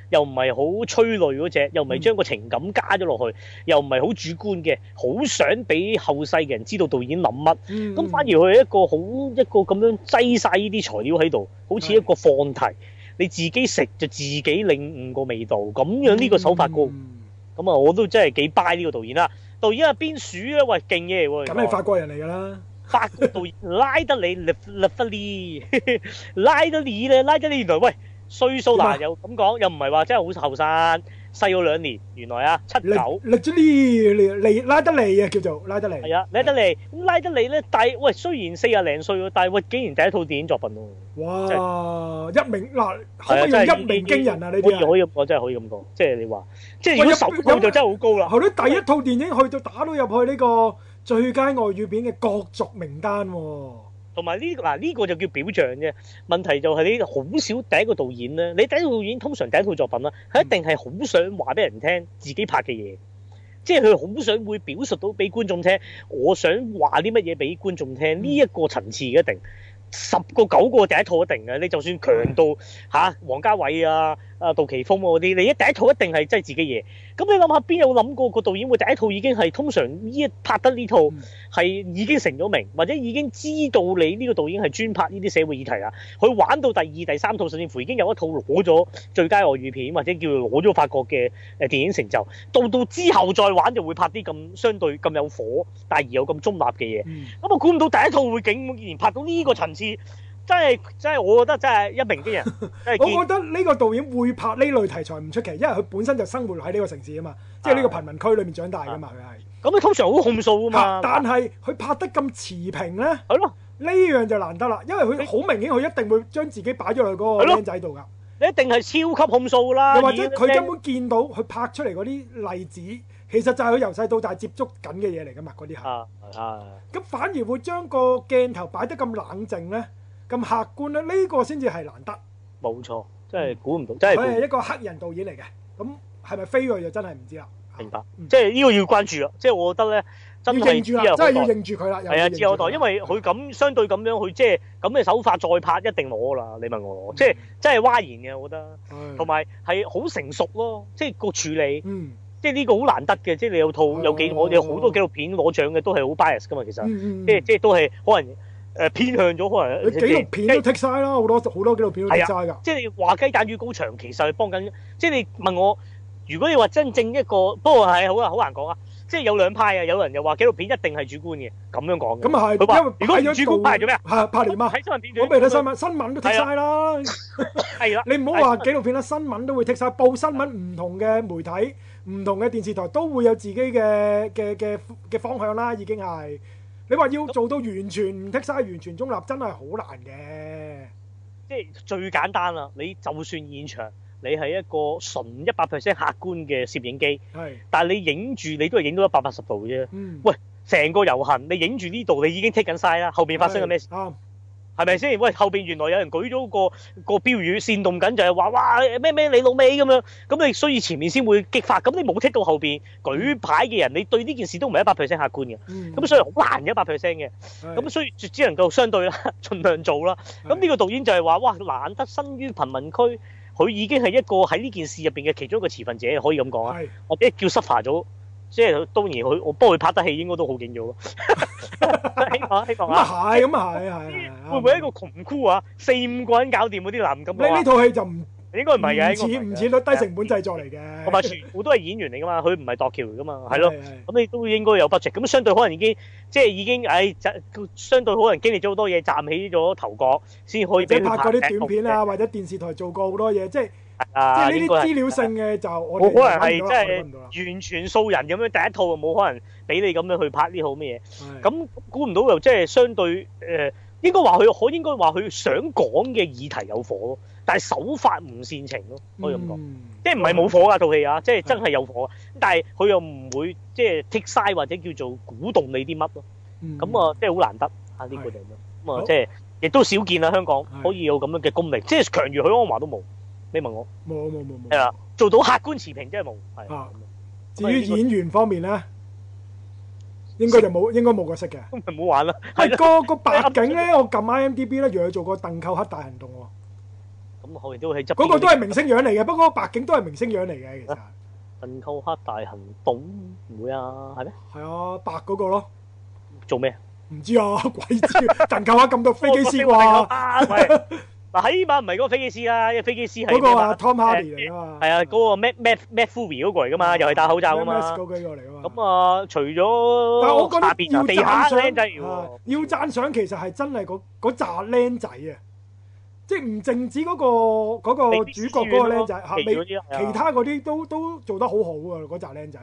又唔係好催淚嗰隻，又唔係將個情感加咗落去，又唔係好主觀嘅，好想俾後世嘅人知道導演諗乜。咁反而佢係一個咁樣擠晒呢啲材料喺度，好似一個放題，你自己食就自己領悟個味道，咁樣呢個手法高。咁啊，我都真係幾 buy 呢個導演啦。導演係邊鼠咧？喂，勁嘢喎！ 咁係法國人嚟㗎啦。 法國導演拉德里 Lefevre 拉德里咧，拉德里原來喂歲數嗱又咁講，又唔係話真係好後生，細咗2年。原來啊79。 拉德利啊，叫做拉德利。 係啊，拉德利。咁拉德利咧，喂雖然40零歲喎，但係喂竟然第一套電影作品喎。 哇！一鳴嗱，可唔可以用一鳴驚人啊？呢啲可以咁講，真係可以咁講。即係你話，即係如果手套就真係好高啦。 後啲第一套電影去到打到入去呢個最佳外語片嘅角逐名單喎。 同埋呢個就叫表象啫。問題就係你好少第一個導演咧，你第一個導演通常第一套作品啦，佢一定係好想話俾人聽自己拍嘅嘢，即係佢好想會表述到俾觀眾聽，我想話啲乜嘢俾觀眾聽。呢一個層次一定10個9個第一套一定嘅。你就算強到王家衛啊、杜琪峰嗰啲，你第一套一定係真係自己嘢。咁你諗下，邊有諗過個導演會第一套已經係通常拍得呢套係已經成咗名，或者已經知道你呢個導演係專拍呢啲社會議題啦。佢玩到第2、第3套，甚至乎已經有一套攞咗最佳外語片，或者叫攞咗法國嘅電影成就。到之後再玩就會拍啲咁相對咁有火，但係而又咁中立嘅嘢。咁我估唔到第一套會竟然拍到呢個層次。真係，我覺得真係一鳴驚人。 我覺得呢個導演會拍呢類題材唔出奇，因為佢本身就生活喺呢個城市啊嘛，即係呢個貧民區裏面長大噶嘛，佢係。 咁佢通常好控訴啊嘛。 但係佢拍得咁持平咧， 係咯， 呢樣就難得啦，因為佢好明顯，佢一定會將自己擺咗落嗰個僆仔度噶。 你一定係超級控訴啦。 又或者佢根本見到佢拍出嚟嗰啲例子，其實就係佢由細到大接觸緊嘅嘢嚟噶嘛，嗰啲係。咁反而會將個鏡頭擺得咁冷靜咧。咁客觀咧，呢個先至係難得。冇錯，真係估唔到，真係。 佢係一個黑人導演嚟嘅，咁係咪飛佢就真係唔知啦。 明白，即係呢個要關注啦。即係我覺得咧，真係真係要認住佢啦。 係啊，自有代，因為佢咁相對咁樣，佢即係咁嘅手法再拍一定攞啦。你問我，即係真係嘩然嘅，我覺得。同埋係好成熟咯，即係個處理。即係呢個好難得嘅，即係你有套我有好多紀錄片攞獎嘅都係好 bias 噶嘛，其實。即係都係可能。偏向咗可能， 你紀錄片都剔晒啦，好多紀錄片都剔晒㗎。 即係你話雞蛋與高牆，其實係幫緊。即係你問我，如果你話真正一個，不過係好難講啊。即係有兩派啊，有人又話紀錄片一定係主觀嘅，咁樣講嘅。 咁啊係， 佢話因為如果主觀派做咩啊？ 係拍連啊！ 睇新聞片段， 我未睇新聞，新聞都剔晒啦。 係啦， 你唔好話紀錄片啦，新聞都會剔晒。報新聞唔同嘅媒體、唔同嘅電視台都會有自己嘅方向啦，已經係。你話要做到完全唔剔晒、完全中立，真係好難嘅。 即係最簡單啦，你就算現場你係一個純100% 客觀嘅攝影機，但係你影住你都係影到180度啫。喂，成個遊行你影住呢度，你已經剔緊晒啦，後邊發生緊咩事？係咪先？喂，後邊原來有人舉咗個標語煽動緊，就係話哇咩你老味咁樣，咁你所以前面先會激發，咁你冇剔到後邊舉牌嘅人，你對呢件事都唔係100% 客觀嘅，咁所以好難100% 嘅，咁所以只能夠相對啦，盡量做啦。咁呢個導演就係話哇難得生於貧民區，佢已經係一個喺呢件事入邊嘅其中一個持份者，可以咁講啊，或者叫 suffer 咗。即係當然我幫佢拍得戲應該都好勁咗咯。希望啊， 咁啊係會唔會一個窮箍啊？4-5個人搞掂嗰啲男咁？ 呢套戲就唔應該唔係嘅， 唔似低成本製作嚟嘅。 同埋全部都係演員嚟噶嘛，佢唔係度橋嚟噶嘛，係咯。咁你都應該有 budget，咁相對可能已經相對可能經歷咗好多嘢，站起咗頭角先可以俾佢拍嗰啲短片啊，或者電視台做過好多嘢，即係呢啲資料性嘅就我哋冇可能係即係完全素人咁樣第一套冇可能俾你咁樣去拍呢套咩嘢。咁估唔到又即係相對應該話佢想講嘅議題有火咯，但係手法唔煽情咯，可以咁講。即係唔係冇火㗎套戲啊，即係真係有火，但係佢又唔會即係剔晒或者叫做鼓動你啲乜咯。咁啊，即係好難得啊呢個地方。咁啊，即係亦都少見啦，香港可以有咁樣嘅功力，即係強如許鞍華都冇。你問我冇係啊，做到客觀持平真係冇。係至於演員方面咧，應該冇個識嘅。 咁咪唔好玩啦。 係個白景咧，我撳 IMDB 咧，原來做過《鄧寇克大行動》喎。 咁後邊都喺側邊。 嗰個都係明星樣嚟嘅，不過白警都係明星樣嚟嘅其實。 陣扣黑大行動唔會啊，係咩？ 係啊，白嗰個咯。 做咩？ 唔知啊，鬼知！陣扣黑咁多飛機師啩？ 嗱，起碼唔係嗰個飛機師啦，因為飛機師係嗰個啊 Tom Hardy 嚟啊嘛。 係啊，嗰個 Matt Fury 嗰個嚟噶嘛，又係戴口罩噶嘛。 嗰個嚟噶嘛。 咁啊，除咗但係我覺得要地下僆仔要讚賞，其實係真係嗰扎僆仔啊！即係唔淨止嗰個主角嗰個僆仔嚇，其他嗰啲都做得好好啊！嗰扎僆仔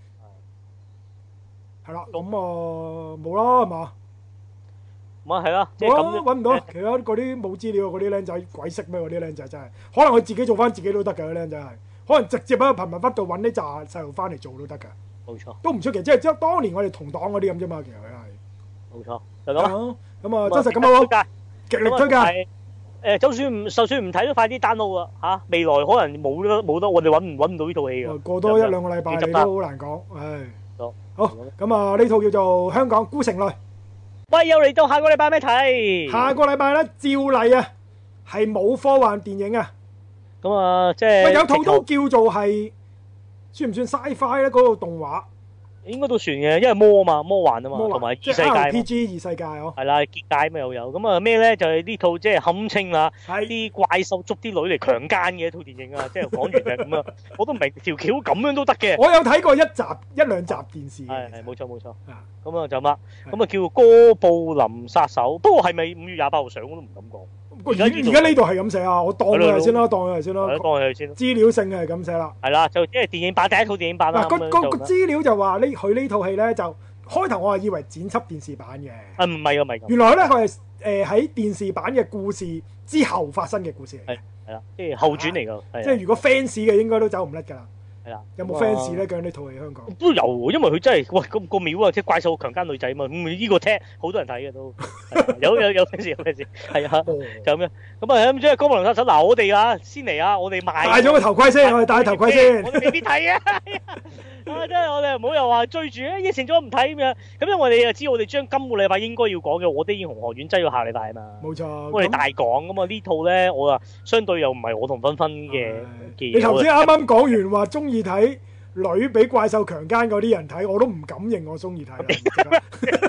係啦，咁啊冇啦係嘛？ 咁係啦， 冇啦，揾唔到其他嗰啲冇資料嗰啲僆仔，鬼識咩？嗰啲僆仔真係，可能佢自己做翻自己都得㗎。嗰啲僆仔係，可能直接喺個貧民窟度揾呢扎細路翻嚟做都得㗎。冇錯，都唔出奇，即係當年我哋同黨嗰啲咁啫嘛。其實佢係冇錯，就咁。咁啊，真實咁好，極力推介。 就算唔睇都快啲 download 啊嚇！未來可能冇得，我哋揾唔到呢套戲㗎。 過多一兩個禮拜你都好難講，唉。好，咁啊呢套叫做《香港孤城淚》。 喂，又嚟到下個禮拜咩睇？ 下個禮拜咧，照例啊，係冇科幻電影啊。 咁啊，即係有套都叫做係算唔算 sci-fi 咧？嗰個動畫應該都算嘅，因為魔幻啊嘛，同埋異世界。 RPG 異世界哦。係啦，結界咩又有咁啊？咩咧？就係呢套即係堪稱啦，啲怪獸捉啲女嚟強姦嘅一套電影啊！即係講完就係咁啊！我都唔明條橋咁樣都得嘅。 我有睇過一兩集電視。 係冇錯。咁啊就乜？咁啊叫哥布林殺手。不過係咪5月28號上我都唔敢講。 而家呢度係咁寫啊！我當佢係先啦，當佢係先啦。 當佢係先。 資料性係咁寫啦。係啦，就即係電影版第一套電影版啦。 嗱，個資料就話佢呢套戲咧，就開頭我係以為剪輯電視版嘅。 唔係唔係。 原來咧佢係喺電視版嘅故事之後發生嘅故事嚟。 係啦，即係後傳嚟㗎。 即係如果 fans 嘅應該都走唔甩㗎啦。 係啦， 有冇 fans 咧？講呢套戲香港都有，因為佢真係喂個廟啊，即係怪獸強姦女仔嘛，呢個聽好多人睇嘅都有 fans 係啊，就咁樣咁啊，咁即係哥布林殺手嗱，我哋啊先嚟啊，我哋賣戴咗個頭盔先，我哋戴頭盔先， 我哋未必睇啊，真係我哋唔好又話追住應承咗唔睇咁樣，咁因為我哋就知我哋將今個禮拜應該要講嘅《我的英雄學院》擠咗下禮拜啊嘛， 冇錯， 我哋大講咁啊呢套咧，我啊相對又唔係我同芬芬嘅。 你頭先啱啱講完話中意睇女俾怪獸強姦嗰啲人睇，我都唔敢認我中意睇。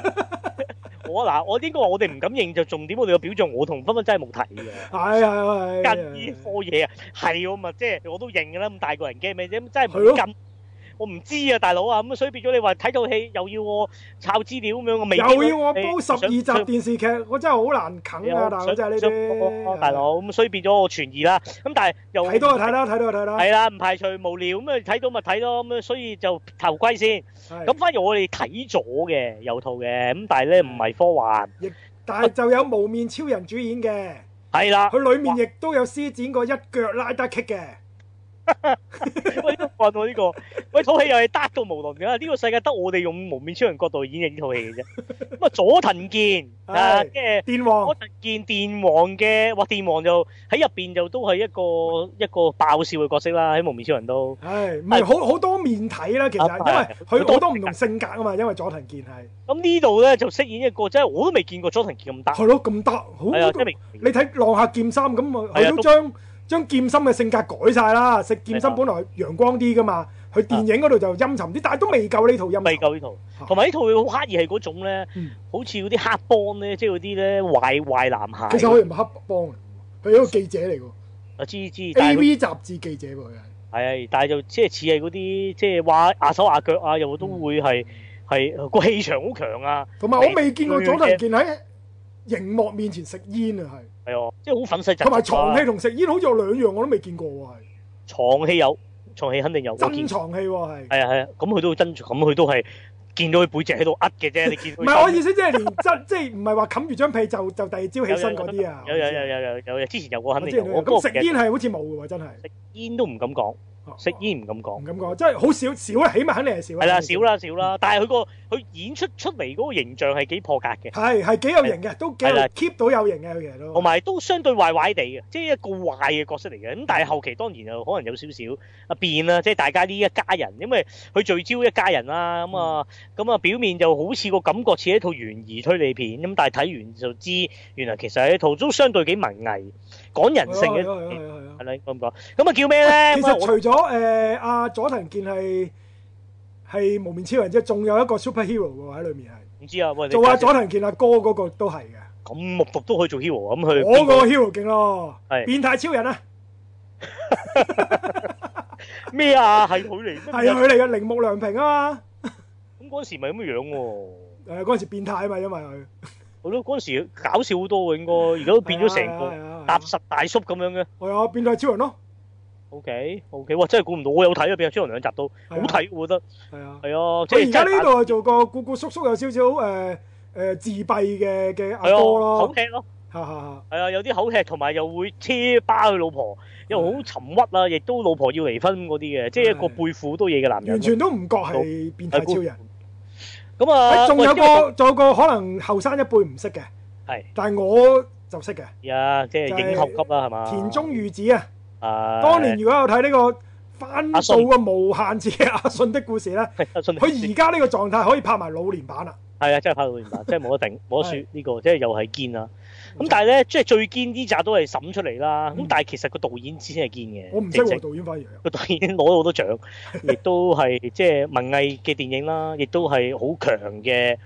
我應該話我哋唔敢認，就重點我哋嘅表象，我同芬芬真係冇睇嘅。 係跟呢科嘢啊，係我咪即係我都認嘅啦。咁大個人驚咩啫？真係唔跟。我唔知啊，大佬啊，咁所以變咗你話睇套戲又要我抄資料咁樣，我未又要我煲12集電視劇，我真係好難啃啊！大佬真係呢啲， 大佬咁所以變咗我存疑啦。咁但係又睇到就睇啦，睇到就睇啦。 係啦，唔排除無聊咁啊，睇到咪睇咯咁啊，所以就頭盔先。咁反而我哋睇咗嘅有套嘅，咁但係咧唔係科幻， 但係就有無面超人主演嘅。 係啦， 佢裡面亦都有施展過一腳拉得 kick 嘅。 喂，都問我呢個，喂，套戲又係得到無倫噶，呢個世界得我哋用無面超人角度演繹呢套戲嘅啫。咁啊，佐藤健啊，即係電王， 佐藤健電王嘅，哇，電王就喺入邊就都係一個爆笑嘅角色啦，喺無面超人都係唔係好多面睇啦，其實因為佢好多唔同性格啊嘛，因為佐藤健係咁呢度咧就飾演一個，即係我都未見過佐藤健咁得， 係咯，咁得，好，你睇浪客劍心咁啊，佢都將劍心嘅性格改晒啦，食劍心本來陽光啲噶嘛，佢電影嗰度就陰沉啲，但係都未夠呢套陰沉。未夠呢套，同埋呢套好刻意係嗰種咧，好似嗰啲黑幫咧，即係嗰啲咧壞男孩。其實佢唔係黑幫嚟，佢係一個記者嚟㗎。我知 AV 雜誌記者喎，佢係。係，但係就即係似係嗰啲，即係話壓手壓腳啊，又都會係個氣場好強啊。同埋我未見過佐藤健喺熒幕面前食煙啊，係啊，即係好憤世嫉俗。同埋藏戲同食煙好似有兩樣我都未見過喎，係。藏戲有，藏戲肯定有。真藏戲喎，係。係啊，咁佢都真，咁佢都係見到佢背脊喺度噏嘅啫，你見。唔係我意思，即係連即係唔係話冚住張被就第二朝起身嗰啲啊？有，之前有過肯定有。咁食煙係好似冇嘅喎，真係。食煙都唔敢講。食煙唔敢講，唔敢講，即係好少啦，起碼肯定係少啦。係啦，少啦，但係佢演出嚟嗰個形象係幾破格嘅，係幾有型嘅，都幾 keep 到有型嘅佢其實都，同埋都相對壞壞地嘅，即係一個壞嘅角色嚟嘅。咁但係後期當然又可能有少少變啦，即係大家呢一家人，因為佢聚焦一家人啦，咁啊表面就好似個感覺似一套懸疑推理片，咁但係睇完就知原來其實係一套都相對幾文藝。 講人性嘅，係啦，應該咁講。咁啊叫咩咧？ 其實除咗阿佐藤健係無面超人之外，仲有一個 superhero 喎喺裏面係。唔知啊，喂， 做阿佐藤健阿哥嗰個都係嘅。 咁木獨都可以做 hero 咁佢？ 我個 hero 勁咯， 係變態超人啊！ 咩啊？係佢嚟？ 係啊，佢嚟嘅，鈴木良平啊嘛。 咁嗰時咪咁嘅樣喎？ 嗰陣時變態啊嘛，因為佢。 好咯，嗰陣時搞笑好多喎，應該而家都變咗成個踏實大叔咁樣嘅。 係啊，變態超人咯。 OK，哇！真係估唔到，我有睇啊，變態超人2集都好睇，我覺得。係啊。係啊，即係而家呢度做個故故叔叔，有少少自閉嘅阿哥咯。 口吃咯。係啊，有啲口吃，同埋又會車巴佢老婆，又好沉鬱啊，亦都老婆要離婚嗰啲嘅，即係一個背負好多嘢嘅男人。完全都唔覺係變態超人。 咁啊， 仲有個可能後生一輩唔識嘅， 係， 但係我就識嘅。 即係影后級啦，係嘛？ 田中裕子啊，當年如果有睇呢個翻到個無限次嘅阿信的故事咧，佢而家呢個狀態可以拍埋老年版啦。 係啊，真係拍老年版，真係冇得頂，冇得輸呢個，即係又係堅啊！咁但係咧，即係最堅呢集都係審出嚟啦。咁但係其實個導演先係堅嘅。 我唔識喎，導演反而個導演攞到好多獎，亦都係即係文藝嘅電影啦，亦都係好強嘅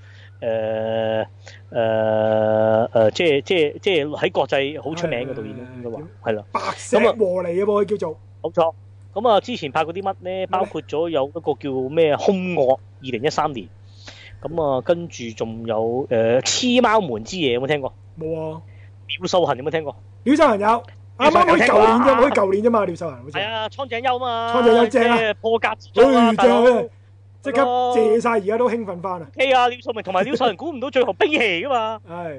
即係喺國際好出名嘅導演咯，應該話係啦。 白石和彌啊，佢叫做冇錯。咁啊，之前拍過啲乜咧？包括咗有一個叫咩《兇惡》2013年。咁啊，跟住仲有黐貓門之夜有冇聽過？ 冇啊。 廖秀恒有冇聽過？ 廖秀恒有，啱啱好舊年啫，好似舊年啫嘛。廖秀恒好似係啊，蒼井優嘛。 蒼井優正啊， 破格之作啊， 即刻謝晒，而家都興奮翻啊。 OK 啊，廖秀明同埋廖秀恒估唔到最後兵器噶嘛。 係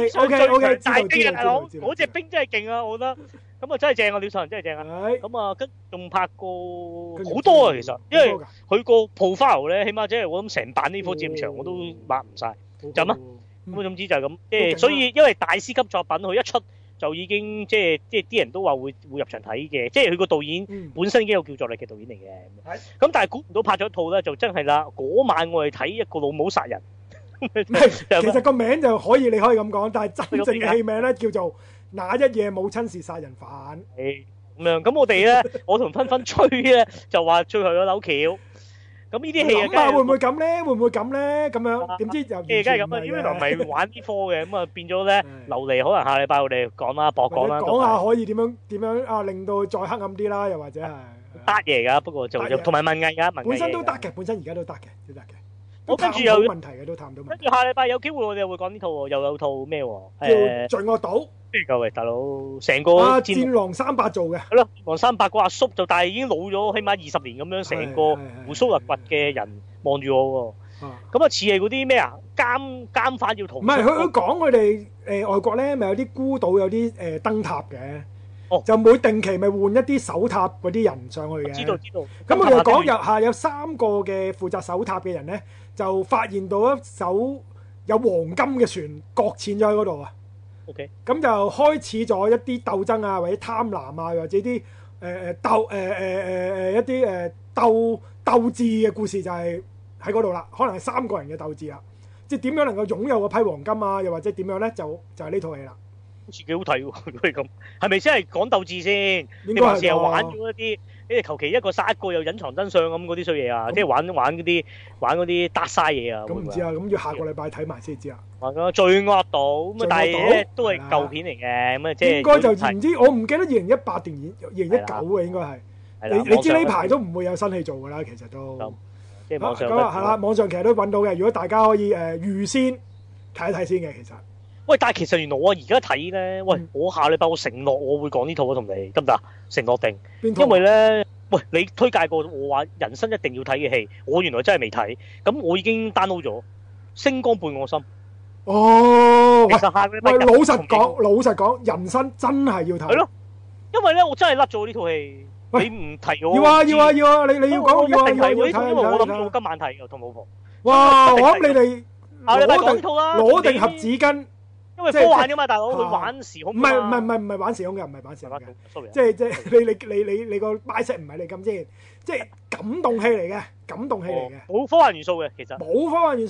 OK， 大兵啊大佬，嗰隻兵真係勁啊，我覺得。咁啊真係正啊，廖秀恒真係正啊。咁啊跟仲拍過好多啊，其實，因為佢個 profile 咧，起碼即係我諗成版呢科戰場我都抹唔晒，就咁啊。咁總之就係咁，即係所以因為大師級作品，佢一出就已經即係啲人都話會入場睇嘅，即係佢個導演本身已經有叫座力嘅導演嚟嘅。咁但係估唔到拍咗一套咧，就真係啦。嗰晚我哋睇一個老母殺人， 其實個名就可以你可以咁講，但係真正嘅戲名咧叫做那一夜母親是殺人犯。 咁樣咁我哋咧，我同芬芬吹咧就話最後有扭橋。咁呢啲戲啊， 會唔會咁咧？會唔會咁咧？咁樣點知又梗係咁啊！因為唔係玩呢科嘅，咁啊變咗咧留嚟，可能下禮拜我哋講啦，博講啦， 講下可以點樣啊，令到再黑暗啲啦，又或者係得嘢㗎，不過就同埋文藝㗎， 本身都得嘅，本身而家都得嘅，都得嘅。 我跟住有問題嘅都談到。跟住下禮拜有機會我哋會講呢套喎，又有套咩喎？ 叫《罪惡島》。 各位大佬，成個戰狼300做嘅。 係咯，戰狼300個阿叔就但係已經老咗，起碼20年咁樣，成個鬍鬚立拔嘅人望住我喎。咁啊似係嗰啲咩啊？監犯要逃。唔係佢講佢哋外國咧，咪有啲孤島有啲燈塔嘅。就每定期咪換一啲守塔嗰啲人上去嘅。知道。咁佢哋講有3個嘅負責守塔嘅人咧，就發現到一艘有黃金嘅船擱淺咗喺嗰度啊。 OK， 咁就開始咗一啲鬥爭啊，或者貪婪啊，或者啲一啲鬥智嘅故事就係喺嗰度啦。可能係3個人嘅鬥智啦，即係點樣能夠擁有嗰批黃金啊，又或者點樣咧，就係呢套戲啦。好似幾好睇喎，如果係咁，係咪真係講鬥智先？應該係成日玩咗一啲，你求其一個殺一個又隱藏真相咁嗰啲衰嘢啊，即係玩嗰啲得晒嘢啊。咁唔知啊，咁要下個禮拜睇埋先知啊。玩咗罪惡島咁啊，但係咧都係舊片嚟嘅，咁啊即係應該就唔知，我唔記得2018定2019嘅應該係。你知呢排都唔會有新戲做㗎啦，其實都。即係網上。咁啊係啦，網上其實都揾到嘅，如果大家可以預先睇一睇先嘅，其實。喂，但係其實原來我而家睇咧，喂，我下禮拜我承諾我會講呢套啊，同你得唔得？承諾定？因為咧，喂，你推介過我話人生一定要睇嘅戲，我原來真係未睇，咁我已經 download 咗《星光伴我心》。哦，其實下禮拜老實講，人生真係要睇。係咯，因為咧，我真係甩咗呢套戲。你唔提我？要啊！你要講要啊！因為我諗住我今晚睇嘅，同老婆。哇！我諗你哋下禮拜講呢套啦，攞定盒紙巾。因為科幻噶嘛，大佬佢玩時空。唔係玩時空嘅，唔係玩時空嘅。即係你個 mindset 唔係你咁先，即係感動戲嚟嘅，感動戲嚟嘅。冇科幻元素嘅，其實冇科幻元素嘅。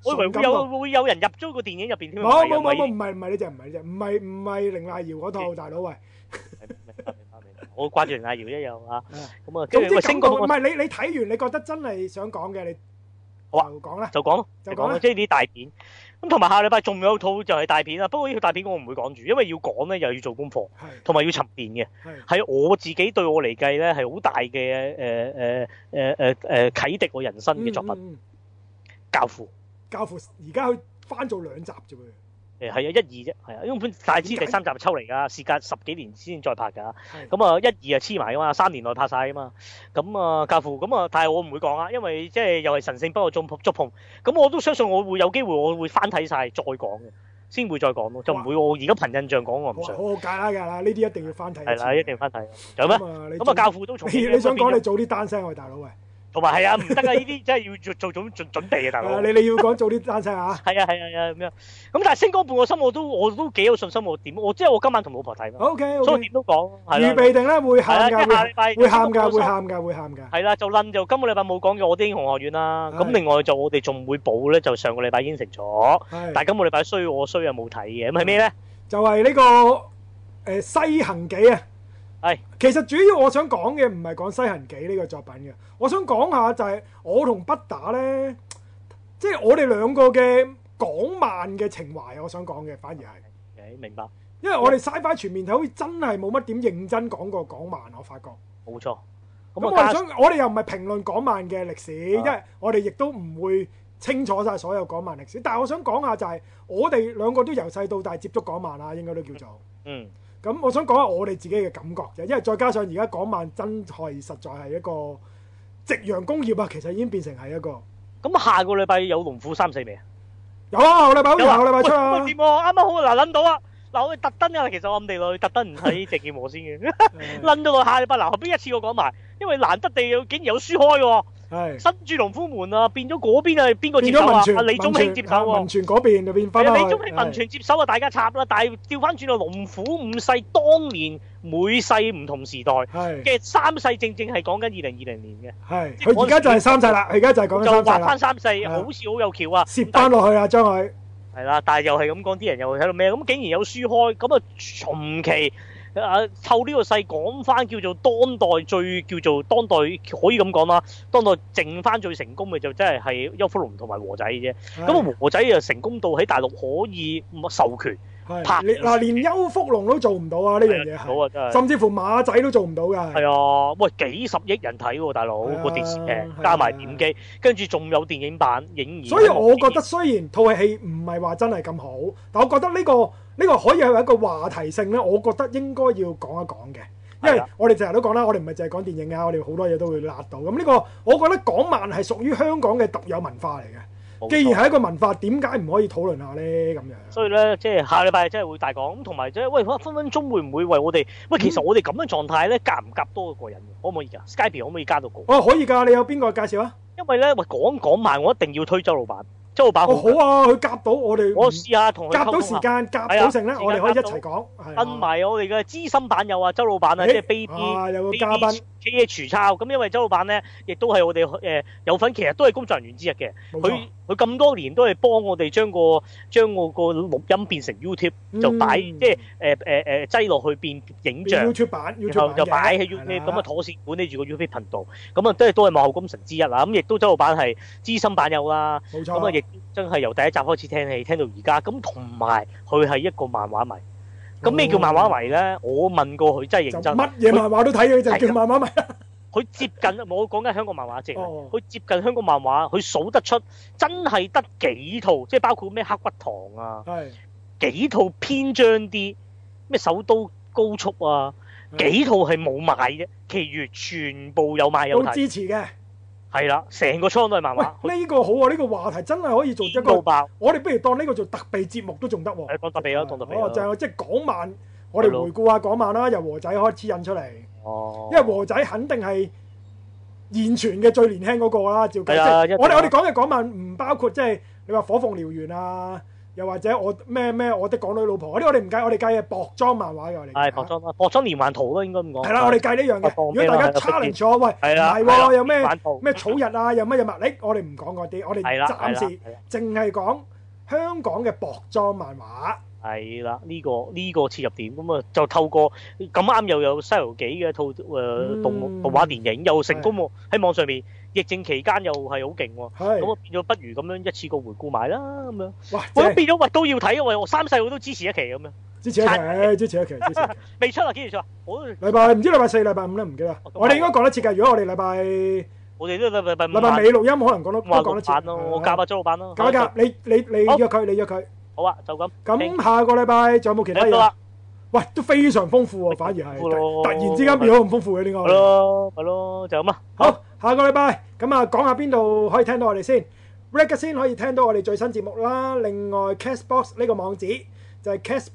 我以為會有人入咗個電影入邊添。 冇，唔係呢隻，唔係凌麗瑤嗰套大佬喂。 明白，我掛住凌麗瑤一樣啊。咁啊， 總之感覺唔係你睇完，你覺得真係想講嘅，你好啊，講啦， 就講咯，即係啲大片。咁同埋下禮拜仲有套就係大片啦，不過呢套大片我唔會講住，因為要講咧又要做功課，同埋要沉澱嘅。係我自己對我嚟計咧係好大嘅啟迪我人生嘅作品。教父而家佢翻做2集啫喎。係啊，1、2啫，係啊，因為本大知第3集係抽嚟㗎，事隔10幾年先再拍㗎。咁啊，1、2啊黐埋㗎嘛，3年內拍晒㗎嘛。咁啊，教父咁啊，但係我唔會講啊，因為即係又係神聖不可觸碰。咁我都相信我會有機會，我會翻睇晒再講嘅，先會再講咯，就唔會我而家憑印象講我唔想。好㗎啦，呢啲一定要翻睇。係啦，一定要翻睇。有咩？咁啊，教父都重。你想講你早啲單聲喂，大佬喂。 同埋係啊，唔得啊！呢啲真係要做準備嘅，大佬。 你要講早啲單聲啊！ 係啊咁樣。咁但係星光伴我心，我都幾有信心我點？即係我今晚同老婆睇嘛。 OK。 所以點都講。 預備定咧會喊㗎，會喊㗎。係啦，就今個禮拜冇講嘅《我的英雄學院》啦。咁另外就我哋仲會補咧，就上個禮拜應承咗。但係今個禮拜衰又冇睇嘅，咁係咩咧？ 就係呢個《西行記》啊！其實主要我想講嘅唔係講《西行記》呢個作品嘅，我想講下就係我同不打呢，即係我哋兩個嘅港漫嘅情懷，我想講嘅反而係， 明白。 因為我哋 Sci-Fi 全面睇好似真係冇乜點認真講過港漫，我發覺。 冇錯。 咁我哋又唔係評論港漫嘅歷史，因為我哋亦都唔會清楚晒所有港漫歷史。但係我想講下就係我哋兩個都由細到大接觸港漫啦，應該都叫做。咁我想講下我哋自己嘅感覺啫，因為再加上而家港漫真係實在係一個夕陽工業啊，其實已經變成係一個。 咁下個禮拜有龍虎3、4未啊？ 有啊，下個禮拜出啊。 喂，掂啊，啱啱好諗到啊！嗱，我哋特登啊，其實我暗地裏特登唔睇鄭健和先嘅，諗到個下禮拜嗱，後邊一次過講埋，因為難得地竟然有書開喎。新駐龍虎門啊，變咗嗰邊係邊個接手啊？李宗興接手喎。 文傳嗰邊就變翻李宗興文傳接手啊，大家插啦。但係調翻轉到龍虎5世，當年每世唔同時代嘅3世，正正係講緊2020年嘅。係， 佢而家就係3世啦，佢而家就係講緊3世啦。 就畫翻3世，好似好有橋啊！ 攝翻落去啊，將佢。 係啦，但係又係咁講，啲人又喺度咩？咁竟然有書開，咁啊從期湊呢個勢講翻叫做當代可以咁講啦，當代剩翻最成功嘅就真係邱福龍同埋和仔啫。咁啊和仔又成功到喺大陸可以授權拍嗱，連邱福龍都做唔到啊！呢樣嘢係，甚至乎馬仔都做唔到㗎。係啊，喂，幾十億人睇喎，大佬個電視劇加埋點擊，跟住仲有電影版影。 所以我覺得雖然套戲唔係話真係咁好，但我覺得呢個可以係一個話題性咧，我覺得應該要講一講嘅。因為我哋成日都講啦，我哋唔係淨係講電影啊，我哋好多嘢都會辣到。咁呢個我覺得港漫係屬於香港嘅獨有文化嚟嘅。既然係一個文化，點解唔可以討論下咧？咁樣， 所以咧，即係下禮拜真係會大講咁，同埋即係喂，分分鐘會唔會為我哋？喂，其實我哋咁嘅狀態咧，夾唔夾多個人？可唔可以㗎？Skype 可唔可以加到個？ 可以㗎。你有邊個介紹啊？ 因為咧，喂，講埋，我一定要推周老闆。周老闆好啊，佢夾到我哋。 我試下同佢夾到時間，夾到成咧，我哋可以一齊講。 跟埋我哋嘅資深版友啊，周老闆啊，即係 Baby 有個嘉賓。 KH 抄咁，因為周老闆咧，亦都係我哋有份，其實都係工作人員之一嘅。佢咁多年都係幫我哋將個錄音變成 YouTube，就擺即係擠落去變影像。 YouTube 版， 然後就擺喺 YouTube 咁啊，妥善管理住個 YouTube 頻道。咁啊，都係幕後功臣之一啦。咁亦都周老闆係資深版友啦。 冇錯。 咁啊，亦真係由第一集開始聽戲，聽到而家。咁同埋佢係一個漫畫迷。咁咩叫漫畫迷咧？我問過佢，真係認真。 乜嘢漫畫都睇嘅，就叫漫畫迷。 佢接近，我講緊香港漫畫啫。佢接近香港漫畫，佢數得出真係得幾套，即係包括咩黑骨堂啊，幾套篇章啲咩首都高速啊，幾套係冇買嘅，其餘全部有買有睇。 都支持嘅。 係啦，成個倉都係漫畫。 呢個好啊！呢個話題真係可以做一個，我哋不如當呢個做特備節目都仲得喎。 講特備啦，當特備。 就係即係港漫，我哋回顧下港漫啦，由和仔開始引出嚟。因為和仔肯定係現存嘅最年輕嗰個啦，照計。我哋講嘅港漫唔包括即係你話火鳳燎原啊， 又或者我咩我的港女老婆嗰啲，我哋唔計，我哋計係薄裝漫畫嘅我哋。 係薄裝啦，薄裝連環圖咯，應該咁講。 係啦，我哋計呢樣嘅。如果大家 challenge 我，喂，唔係喎，有咩草日啊，有乜嘢物力，我哋唔講嗰啲，我哋暫時淨係講香港嘅薄裝漫畫。係啦，呢個切入點，咁啊就透過咁啱又有《西遊記》嘅一套動畫電影又成功喎，喺網上面疫症期間又係好勁喎，咁啊變咗不如咁樣一次過回顧埋啦咁樣。哇！我都變咗喂都要睇啊喂，我三細我都支持一期咁樣。支持一期。未出啊？幾時出啊？ 禮拜唔知禮拜4、禮拜5咧，唔記得。我哋應該講得切㗎。如果我哋禮拜禮拜尾錄音，可能都講得切。 我夾阿周老闆咯。 夾，你約佢。 好啊，就咁。 咁下個禮拜仲有冇其他嘢？喂，都非常豐富喎，反而係突然之間變咗咁豐富嘅呢個。 係咯，就咁啊。 好，下個禮拜咁啊，講下邊度可以聽到我哋先。Ragazine 先可以聽到我哋最新節目啦。另外 Castbox 呢個網址就係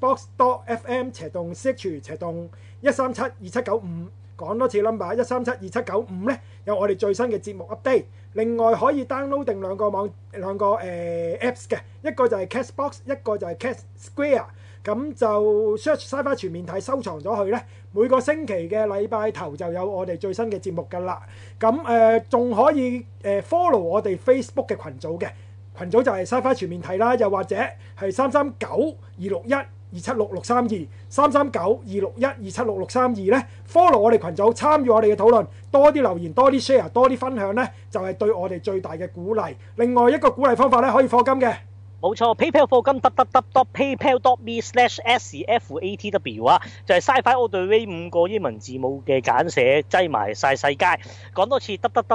castbox.fm//1372795。講多次 number 1372795咧，有我哋最新嘅節目 update。另外可以 download 定兩個 apps 嘅，一個就係 Castbox， 一個就係 Castsquare。咁就 search Sci-Fi 全面睇，收藏咗佢咧。每個星期嘅禮拜頭就有我哋最新嘅節目㗎啦。咁仲可以follow 我哋 Facebook 嘅群組嘅，群組就係 Sci-Fi 全面睇啦，又或者係339-261-276-32339-261-276-632咧 follow 我哋群組，參與我哋嘅討論，多啲留言，多啲 share， 多啲分享咧，就係對我哋最大嘅鼓勵。另外一個鼓勵方法咧，可以課金嘅。冇錯 ，PayPal 課金www.paypal.me/scfatw 啊，就係 Sci-Fi All The Way 5個英文字母嘅簡寫，擠埋晒世界。講多次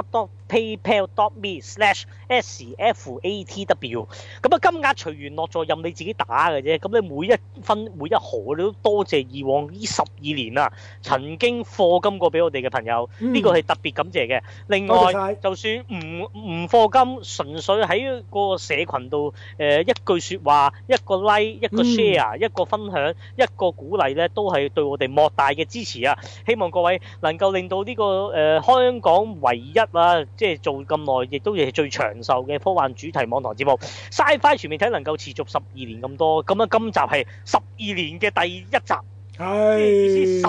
www.paypal.me/scfatw。咁啊，金額隨緣落座，任你自己打嘅啫。咁你每一分每一毫，你都多謝以往呢12年啊，曾經課金過俾我哋嘅朋友，呢個係特別感謝嘅。另外，就算唔課金，純粹喺個社群度一句說話，一個 like， 一個 share，一個分享，一個鼓勵咧，都係對我哋莫大嘅支持啊！希望各位能夠令到呢個香港唯一啊，即係做咁耐，亦都係最長壽嘅科幻主題網台節目 Sci-Fi 全面睇能夠持續12年咁多，咁啊今集係12年嘅第一集。係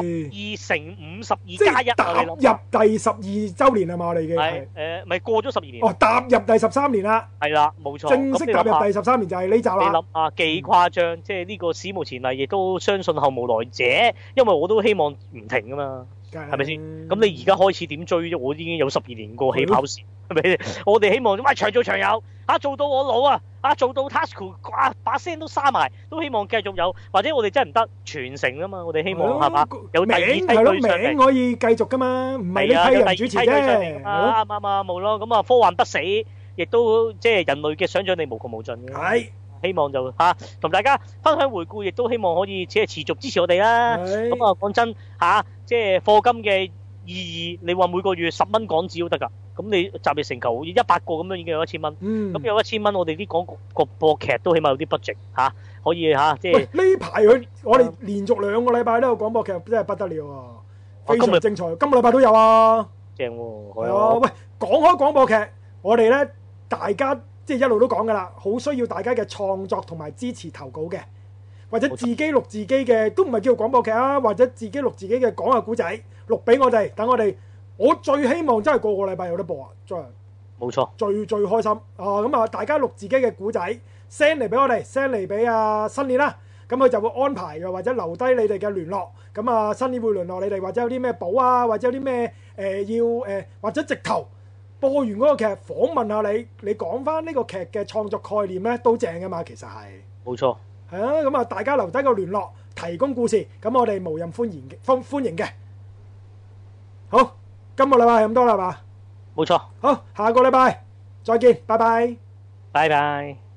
12×5，12+1，踏入第12週年係嘛？我哋已經係咪過咗12年？哦，踏入第13年啦。係啦，冇錯。正式踏入第13年就係呢集啦。你諗下幾誇張？即係呢個史無前例，亦都相信後無來者。因為我都希望唔停噶嘛，係咪先？咁你而家開始點追啫？我已經有12年個起跑線，係咪？我哋希望喂長做長有，做到我老啊！做到 Tasuku 把聲都沙埋，都希望繼續有，或者我哋真係唔得傳承啊嘛！我哋希望係嘛？有第二梯隊上嚟，名可以繼續噶嘛？唔係呢批人主持啫。啱冇咯。咁啊，科幻不死，亦都即係人類嘅想像力無窮無盡嘅。係，希望就同大家分享回顧，亦都希望可以即係持續支持我哋啦。咁啊，講真即係課金嘅意義，你話每個月10蚊港紙都得㗎。咁你集腋成裘，好似100個咁樣已經有1000蚊。咁有1000蚊，我哋啲廣個播劇都起碼有啲 budget 可以即係。呢排我哋連續2個禮拜都有廣播劇，真係不得了啊！非常精彩，今個禮拜都有啊。正喎，係啊！喂，講開廣播劇，我哋咧大家即係一路都講㗎啦，好需要大家嘅創作同埋支持投稿嘅，或者自己錄自己嘅，都唔係叫廣播劇啊，或者自己錄自己嘅講下古仔，錄俾我哋，等我哋。我最希望真係個禮拜有得播啊！真係冇錯，最開心啊！咁啊，大家錄自己嘅古仔 send 嚟俾我哋 ，send 嚟俾新年啦。咁佢就會安排又或者留低你哋嘅聯絡。咁啊，新年會聯絡你哋，或者有啲咩補啊，或者有啲咩或者直頭播完嗰個劇訪問下你，你講翻呢個劇嘅創作概念咧，都正噶嘛。其實係冇錯，係啊。咁啊，大家留低個聯絡，提供故事，咁我哋無任歡迎嘅。好。今個禮拜係咁多啦，係嘛？冇錯。好，下個禮拜再見，拜拜。拜拜。